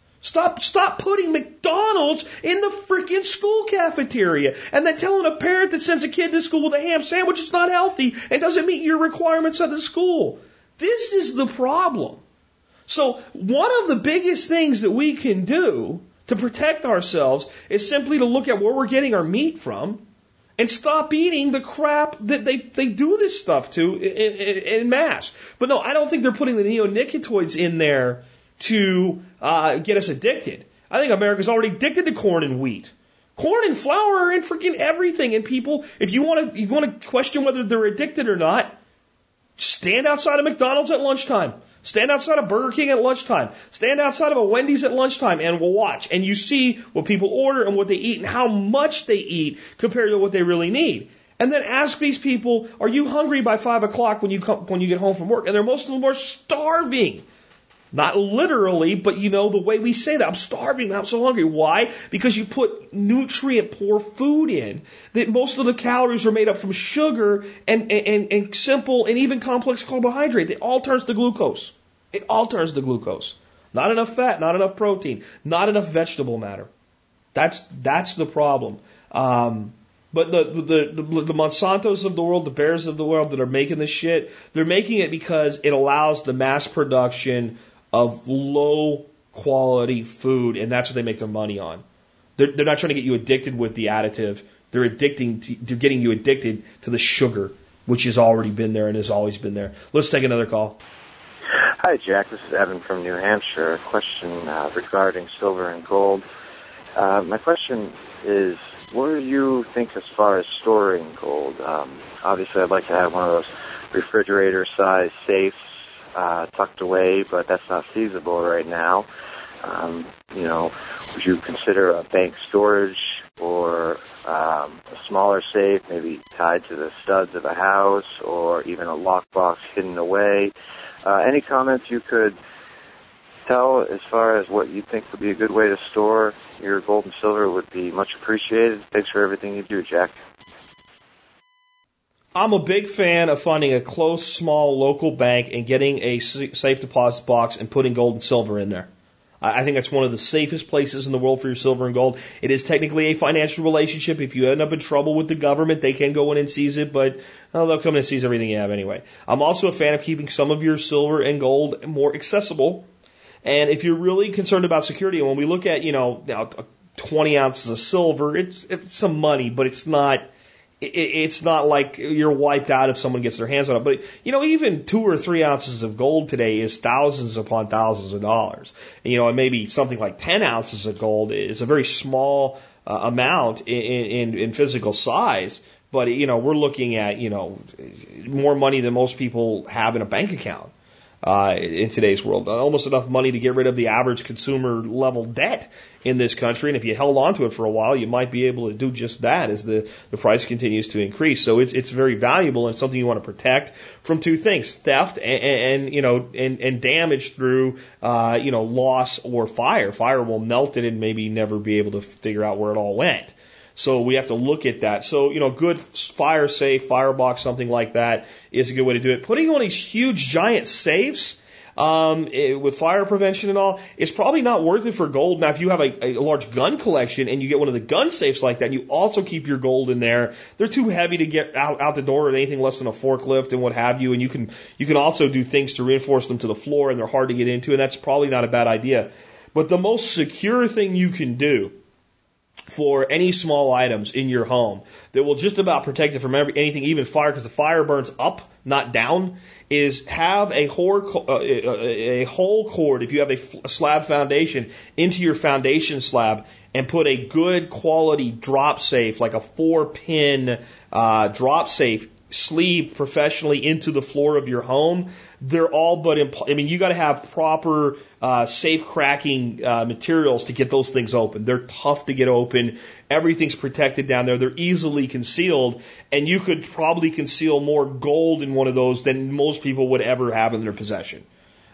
Speaker 2: Stop putting McDonald's in the freaking school cafeteria and then telling a parent that sends a kid to school with a ham sandwich is not healthy and doesn't meet your requirements at the school. This is the problem. So one of the biggest things that we can do to protect ourselves is simply to look at where we're getting our meat from and stop eating the crap that they do this stuff to in mass. But no, I don't think they're putting the neonicotinoids in there to get us addicted. I think America's already addicted to corn and wheat. Corn and flour are in freaking everything. And people, if you want to question whether they're addicted or not, stand outside of McDonald's at lunchtime. Stand outside of Burger King at lunchtime. Stand outside of a Wendy's at lunchtime and we'll watch. And you see what people order and what they eat and how much they eat compared to what they really need. And then ask these people, are you hungry by 5 o'clock when you get home from work? And most of them are starving. Not literally, but you know, the way we say that, I'm starving, I'm so hungry. Why? Because you put nutrient-poor food in, that most of the calories are made up from sugar and simple and even complex carbohydrate. It all turns to glucose. It all turns to glucose. Not enough fat, not enough protein, not enough vegetable matter. That's the problem. But the Monsantos of the world, the Bayers of the world that are making this shit, they're making it because it allows the mass production of low quality food, and that's what they make their money on. They're not trying to get you addicted with the additive. They're getting you addicted to the sugar, which has already been there and has always been there. Let's take another call.
Speaker 14: Hi, Jack. This is Evan from New Hampshire. A question regarding silver and gold. My question is, what do you think as far as storing gold? Obviously, I'd like to have one of those refrigerator-sized safes tucked away, but that's not feasible right now. Would you consider a bank storage or a smaller safe, maybe tied to the studs of a house, or even a lockbox hidden away? Any comments you could tell as far as what you think would be a good way to store your gold and silver would be much appreciated. Thanks for everything you do, Jack.
Speaker 2: I'm a big fan of finding a close, small, local bank and getting a safe deposit box and putting gold and silver in there. I think that's one of the safest places in the world for your silver and gold. It is technically a financial relationship. If you end up in trouble with the government, they can go in and seize it, but they'll come in and seize everything you have anyway. I'm also a fan of keeping some of your silver and gold more accessible. And if you're really concerned about security, and when we look at, 20 ounces of silver, it's some money, but it's not like you're wiped out if someone gets their hands on it. But, even 2 or 3 ounces of gold today is thousands upon thousands of dollars. And maybe something like 10 ounces of gold is a very small amount in physical size. But, we're looking at, more money than most people have in a bank account. In today's world, almost enough money to get rid of the average consumer level debt in this country. And if you held on to it for a while, you might be able to do just that as the price continues to increase. So it's very valuable and something you want to protect from two things: theft and damage through loss or fire. Fire will melt it and maybe never be able to figure out where it all went. So we have to look at that. So, good fire safe, firebox, something like that is a good way to do it. Putting on these huge giant safes, with fire prevention and all, it's probably not worth it for gold. Now, if you have a large gun collection and you get one of the gun safes like that, and you also keep your gold in there, they're too heavy to get out the door with anything less than a forklift and what have you. And you can also do things to reinforce them to the floor, and they're hard to get into, and that's probably not a bad idea. But the most secure thing you can do for any small items in your home that will just about protect it from anything, even fire, because the fire burns up, not down, is have a whole cord, if you have a slab foundation, into your foundation slab and put a good quality drop safe, like a 4-pin drop safe, sleeved professionally into the floor of your home. They're all but you got to have proper safe cracking materials to get those things open. They're tough to get open. Everything's protected down there. They're easily concealed, and you could probably conceal more gold in one of those than most people would ever have in their possession.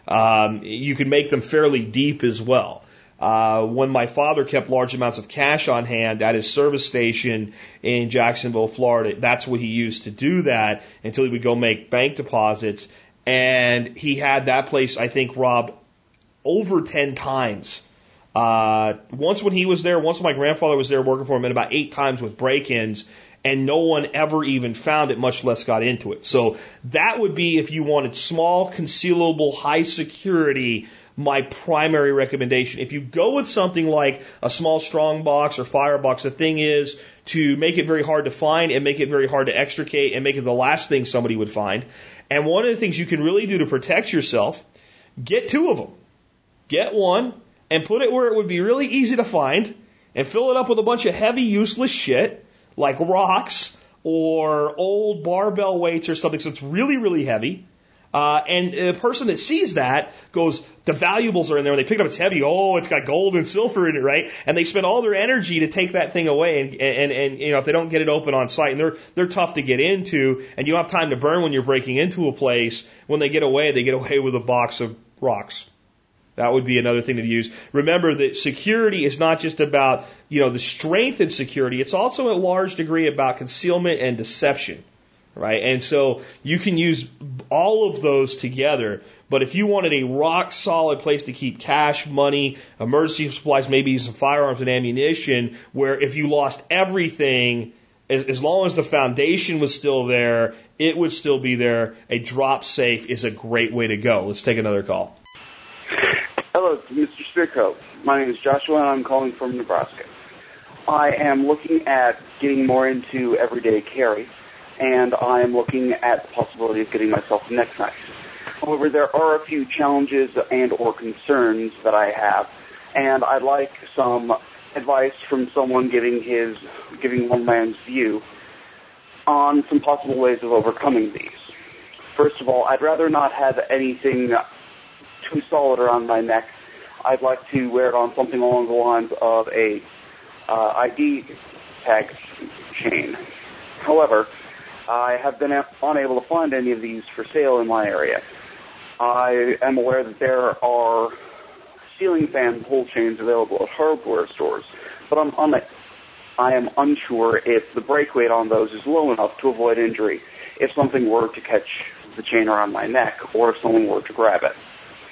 Speaker 2: You can make them fairly deep as well. When my father kept large amounts of cash on hand at his service station in Jacksonville, Florida, that's what he used to do that until he would go make bank deposits. And he had that place, I think, robbed over 10 times. Once when he was there, once when my grandfather was there working for him, and about 8 times with break-ins, and no one ever even found it, much less got into it. So that would be, if you wanted small, concealable, high security, my primary recommendation. If you go with something like a small strong box or firebox, the thing is to make it very hard to find and make it very hard to extricate and make it the last thing somebody would find. And one of the things you can really do to protect yourself, get 2 of them. Get one and put it where it would be really easy to find and fill it up with a bunch of heavy, useless shit like rocks or old barbell weights or something, so it's really, really heavy. And the person that sees that goes, the valuables are in there, and they pick it up, it's heavy, oh, it's got gold and silver in it, right? And they spend all their energy to take that thing away, and if they don't get it open on site, and they're tough to get into, and you don't have time to burn when you're breaking into a place, when they get away with a box of rocks. That would be another thing to use. Remember that security is not just about, the strength in security, it's also a large degree about concealment and deception. Right? And so you can use all of those together, but if you wanted a rock solid place to keep cash, money, emergency supplies, maybe some firearms and ammunition, where if you lost everything, as long as the foundation was still there, it would still be there, a drop safe is a great way to go. Let's take another call.
Speaker 15: Hello, Mr. Spirko. My name is Joshua, and I'm calling from Nebraska. I am looking at getting more into everyday carry, and I am looking at the possibility of getting myself a neck knife. However, there are a few challenges and or concerns that I have, and I'd like some advice from someone giving one man's view on some possible ways of overcoming these. First of all, I'd rather not have anything too solid around my neck. I'd like to wear it on something along the lines of a ID tag chain. However, I have been unable to find any of these for sale in my area. I am aware that there are ceiling fan pull chains available at hardware stores, but I am unsure if the break weight on those is low enough to avoid injury if something were to catch the chain around my neck or if someone were to grab it.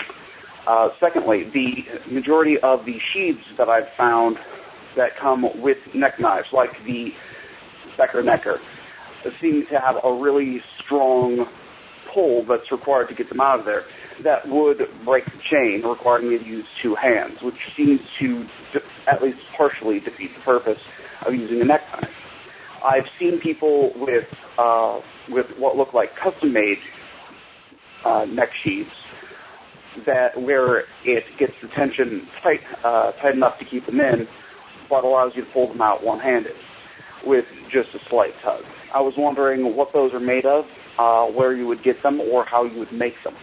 Speaker 15: Secondly, the majority of the sheaths that I've found that come with neck knives, like the Becker Necker, seem to have a really strong pull that's required to get them out of there that would break the chain, requiring me to use 2 hands, which seems to at least partially defeat the purpose of using a neck knife. I've seen people with what look like custom-made neck sheaths where it gets the tension tight enough to keep them in, but allows you to pull them out one-handed with just a slight tug. I was wondering what those are made of, where you would get them, or how you would make them.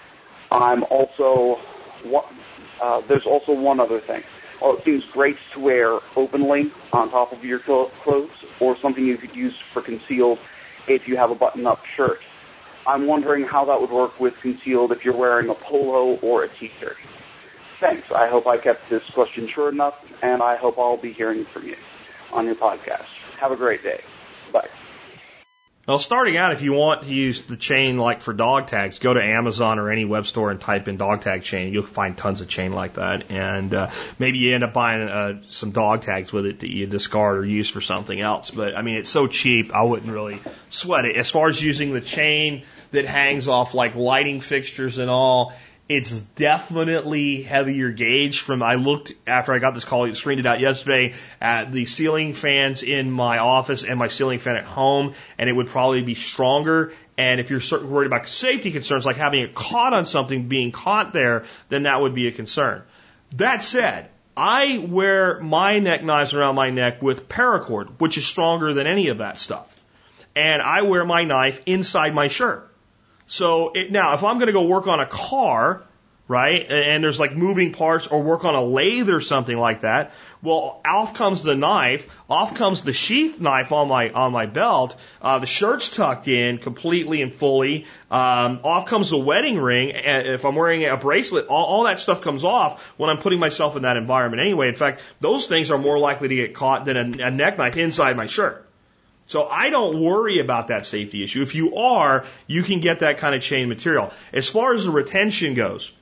Speaker 15: There's also one other thing. Well, it seems great to wear openly on top of your clothes, or something you could use for concealed if you have a button-up shirt. I'm wondering how that would work with concealed if you're wearing a polo or a t-shirt. Thanks. I hope I kept this question short enough, and I hope I'll be hearing from you. on your podcast. Have a great day. Bye.
Speaker 2: Well, starting out, if you want to use the chain like for dog tags, go to Amazon or any web store and type in dog tag chain. You'll find tons of chain like that. And maybe you end up buying some dog tags with it that you discard or use for something else. But, I mean, it's so cheap, I wouldn't really sweat it. As far as using the chain that hangs off like lighting fixtures and all, it's definitely heavier gauge. I looked after I got this call, screened it out yesterday, at the ceiling fans in my office and my ceiling fan at home, and it would probably be stronger. And if you're worried about safety concerns, like having it caught on something, being caught there, then that would be a concern. That said, I wear my neck knives around my neck with paracord, which is stronger than any of that stuff. And I wear my knife inside my shirt. So now, if I'm going to go work on a car, right, and there's like moving parts, or work on a lathe or something like that, well, off comes the knife, off comes the sheath knife on my belt, the shirt's tucked in completely and fully, off comes the wedding ring, and if I'm wearing a bracelet, all that stuff comes off when I'm putting myself in that environment anyway. In fact, those things are more likely to get caught than a neck knife inside my shirt. So I don't worry about that safety issue. If you are, you can get that kind of chain material. As far as the retention goes,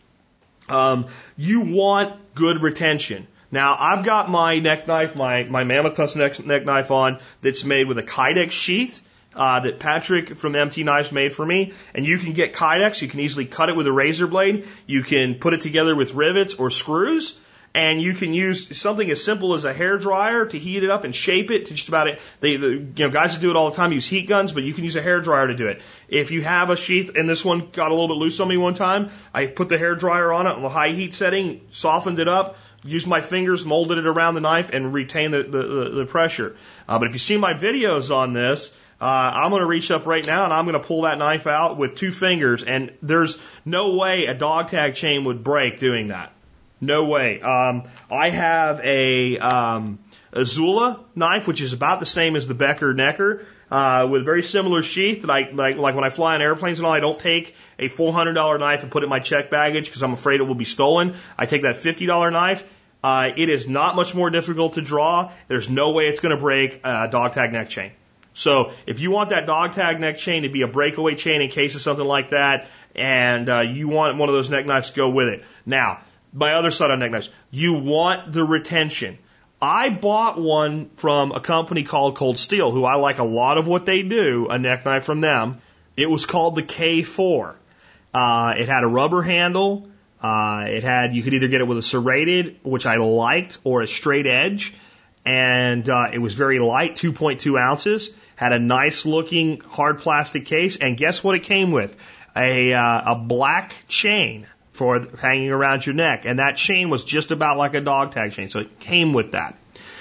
Speaker 2: you want good retention. Now, I've got my neck knife, my Mammoth Tusk neck knife on, that's made with a Kydex sheath that Patrick from MT Knives made for me. And you can get Kydex. You can easily cut it with a razor blade. You can put it together with rivets or screws. And you can use something as simple as a hairdryer to heat it up and shape it to just about it. Guys that do it all the time use heat guns, but you can use a hairdryer to do it. If you have a sheath, and this one got a little bit loose on me one time, I put the hairdryer on it on the high heat setting, softened it up, used my fingers, molded it around the knife, and retained the pressure. But if you see my videos on this, I'm going to reach up right now and I'm going to pull that knife out with 2 fingers, and there's no way a dog tag chain would break doing that. No way. I have a Zula knife, which is about the same as the Becker Necker, with a very similar sheath that I like when I fly on airplanes and all. I don't take a $400 knife and put it in my checked baggage because I'm afraid it will be stolen. I take that $50 knife. It is not much more difficult to draw. There's no way it's going to break a dog tag neck chain. So if you want that dog tag neck chain to be a breakaway chain in case of something like that, and you want one of those neck knives to go with it. Now, my other side on neck knives, you want the retention. I bought one from a company called Cold Steel, who I like a lot of what they do, a neck knife from them. It was called the K4. It had a rubber handle. You could either get it with a serrated, which I liked, or a straight edge. And it was very light, 2.2 ounces. Had a nice looking hard plastic case. And guess what it came with? A black chain for hanging around your neck. And that chain was just about like a dog tag chain. So it came with that.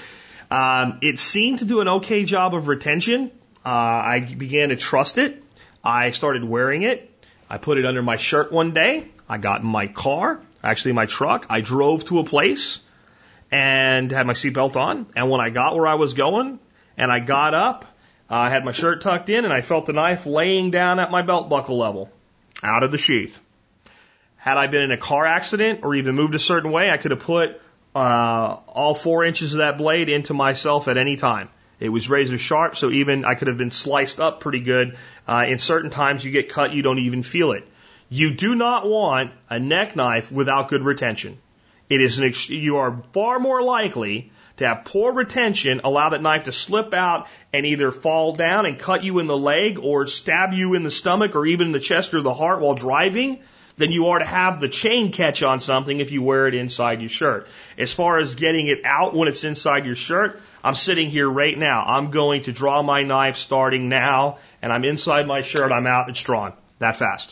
Speaker 2: It seemed to do an okay job of retention. I began to trust it. I started wearing it. I put it under my shirt one day. I got in my car, actually my truck. I drove to a place and had my seatbelt on. And when I got where I was going and I got up, I had my shirt tucked in and I felt the knife laying down at my belt buckle level, out of the sheath. Had I been in a car accident or even moved a certain way, I could have put all 4 inches of that blade into myself at any time. It was razor sharp, so even I could have been sliced up pretty good. In certain times you get cut, you don't even feel it. You do not want a neck knife without good retention. You are far more likely to have poor retention, allow that knife to slip out and either fall down and cut you in the leg or stab you in the stomach or even in the chest or the heart while driving, than you are to have the chain catch on something if you wear it inside your shirt. As far as getting it out when it's inside your shirt, I'm sitting here right now. I'm going to draw my knife starting now, and I'm inside my shirt. I'm out. It's drawn that fast.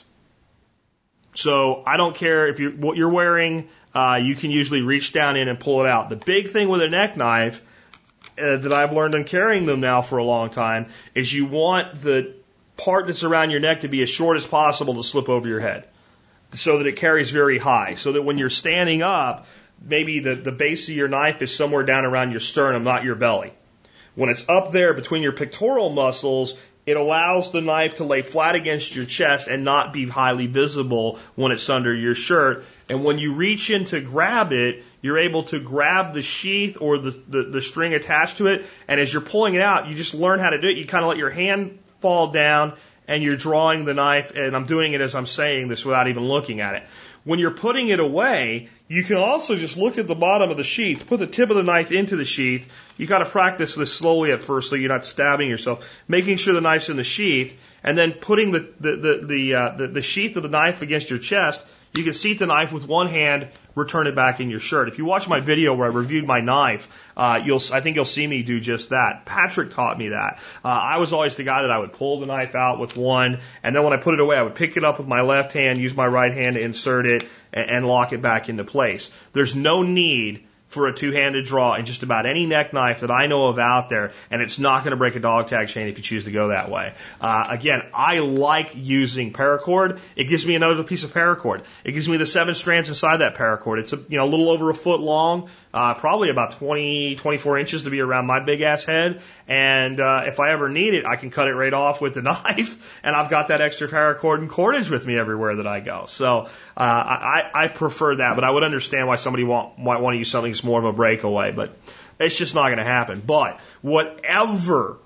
Speaker 2: So I don't care if what you're wearing. You can usually reach down in and pull it out. The big thing with a neck knife that I've learned in carrying them now for a long time is you want the part that's around your neck to be as short as possible to slip over your head, so that it carries very high, so that when you're standing up, maybe the base of your knife is somewhere down around your sternum, not your belly. When it's up there between your pectoral muscles, it allows the knife to lay flat against your chest and not be highly visible when it's under your shirt. And when you reach in to grab it, you're able to grab the sheath or the string attached to it. And as you're pulling it out, you just learn how to do it. You kind of let your hand fall down and you're drawing the knife. And I'm doing it as I'm saying this without even looking at it. When you're putting it away, you can also just look at the bottom of the sheath, put the tip of the knife into the sheath. You got to practice this slowly at first so you're not stabbing yourself. Making sure the knife's in the sheath, and then putting the sheath of the knife against your chest. You can seat the knife with one hand, return it back in your shirt. If you watch my video where I reviewed my knife, I think you'll see me do just that. Patrick taught me that. I was always the guy that I would pull the knife out with one, and then when I put it away, I would pick it up with my left hand, use my right hand to insert it, and lock it back into place. There's no need for a two-handed draw in just about any neck knife that I know of out there, and it's not going to break a dog tag chain if you choose to go that way. Again, I like using paracord. It gives me another piece of paracord. It gives me the 7 strands inside that paracord. It's a little over a foot long, probably about 24 inches to be around my big ass head. And if I ever need it, I can cut it right off with the knife, and I've got that extra paracord and cordage with me everywhere that I go. So I prefer that, but I would understand why somebody might want to use something that's more of a breakaway, but it's just not going to happen. But whatever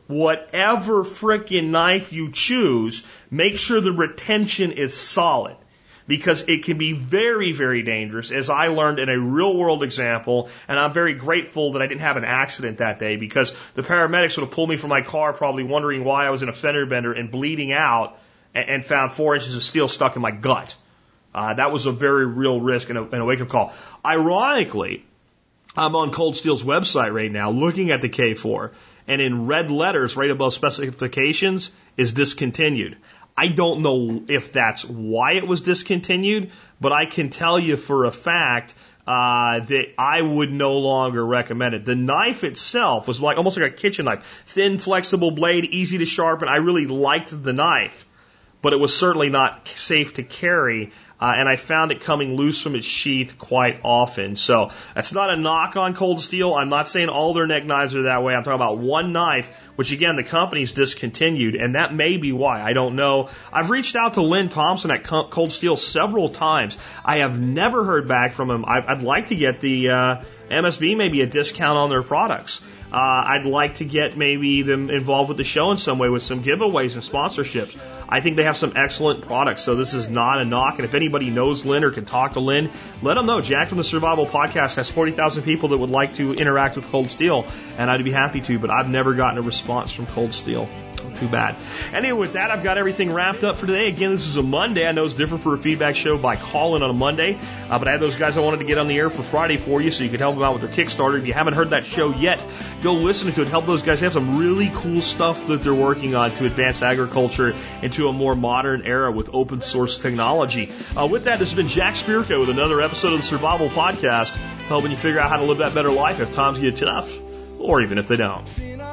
Speaker 2: frickin' knife you choose, make sure the retention is solid. Because it can be very, very dangerous, as I learned in a real-world example, and I'm very grateful that I didn't have an accident that day, because the paramedics would have pulled me from my car probably wondering why I was in a fender bender and bleeding out and found 4 inches of steel stuck in my gut. That was a very real risk and a wake-up call. Ironically, I'm on Cold Steel's website right now looking at the K4, and in red letters right above specifications is discontinued. I don't know if that's why it was discontinued, but I can tell you for a fact that I would no longer recommend it. The knife itself was almost like a kitchen knife. Thin, flexible blade, easy to sharpen. I really liked the knife, but it was certainly not safe to carry. And I found it coming loose from its sheath quite often. So that's not a knock on Cold Steel. I'm not saying all their neck knives are that way. I'm talking about one knife, which again, the company's discontinued, and that may be why. I don't know. I've reached out to Lynn Thompson at Cold Steel several times. I have never heard back from him. I'd like to get the MSB maybe a discount on their products. I'd like to get maybe them involved with the show in some way with some giveaways and sponsorships. I think they have some excellent products, so this is not a knock. And if anybody knows Lynn or can talk to Lynn, let them know. Jack from the Survival Podcast has 40,000 people that would like to interact with Cold Steel, and I'd be happy to, but I've never gotten a response from Cold Steel. Too bad. Anyway, with that, I've got everything wrapped up for today. Again, this is a Monday. I know it's different for a feedback show by calling on a Monday, but I had those guys I wanted to get on the air for Friday for you so you could help them out with their Kickstarter. If you haven't heard that show yet, go listen to it. Help those guys. They have some really cool stuff that they're working on to advance agriculture into a more modern era with open source technology. With that, this has been Jack Spirko with another episode of the Survival Podcast, helping you figure out how to live that better life if times get tough, or even if they don't.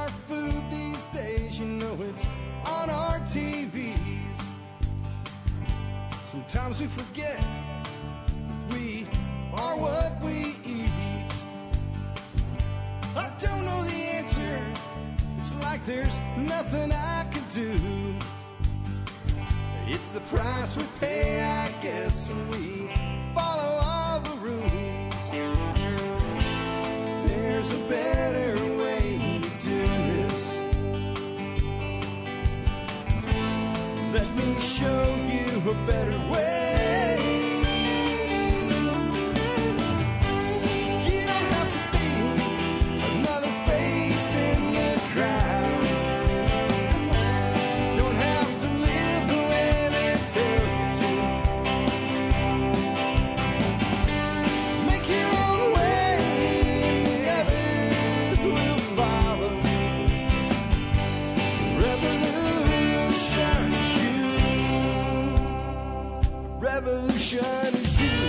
Speaker 1: Sometimes we forget we are what we eat. I don't know the answer. It's like there's nothing I can do. It's the price we pay, I guess, when we follow all the rules. There's a better way to do this. Let me show you a better way. You don't have to be another face in the crowd. You don't have to live the way they tell you to. Make your own way and the others will follow. Revolution is you. Revolution is you.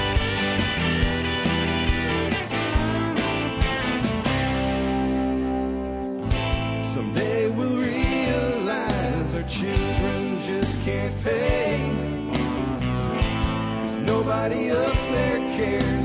Speaker 1: Someday we'll realize our children just can't pay. 'Cause nobody up there cares.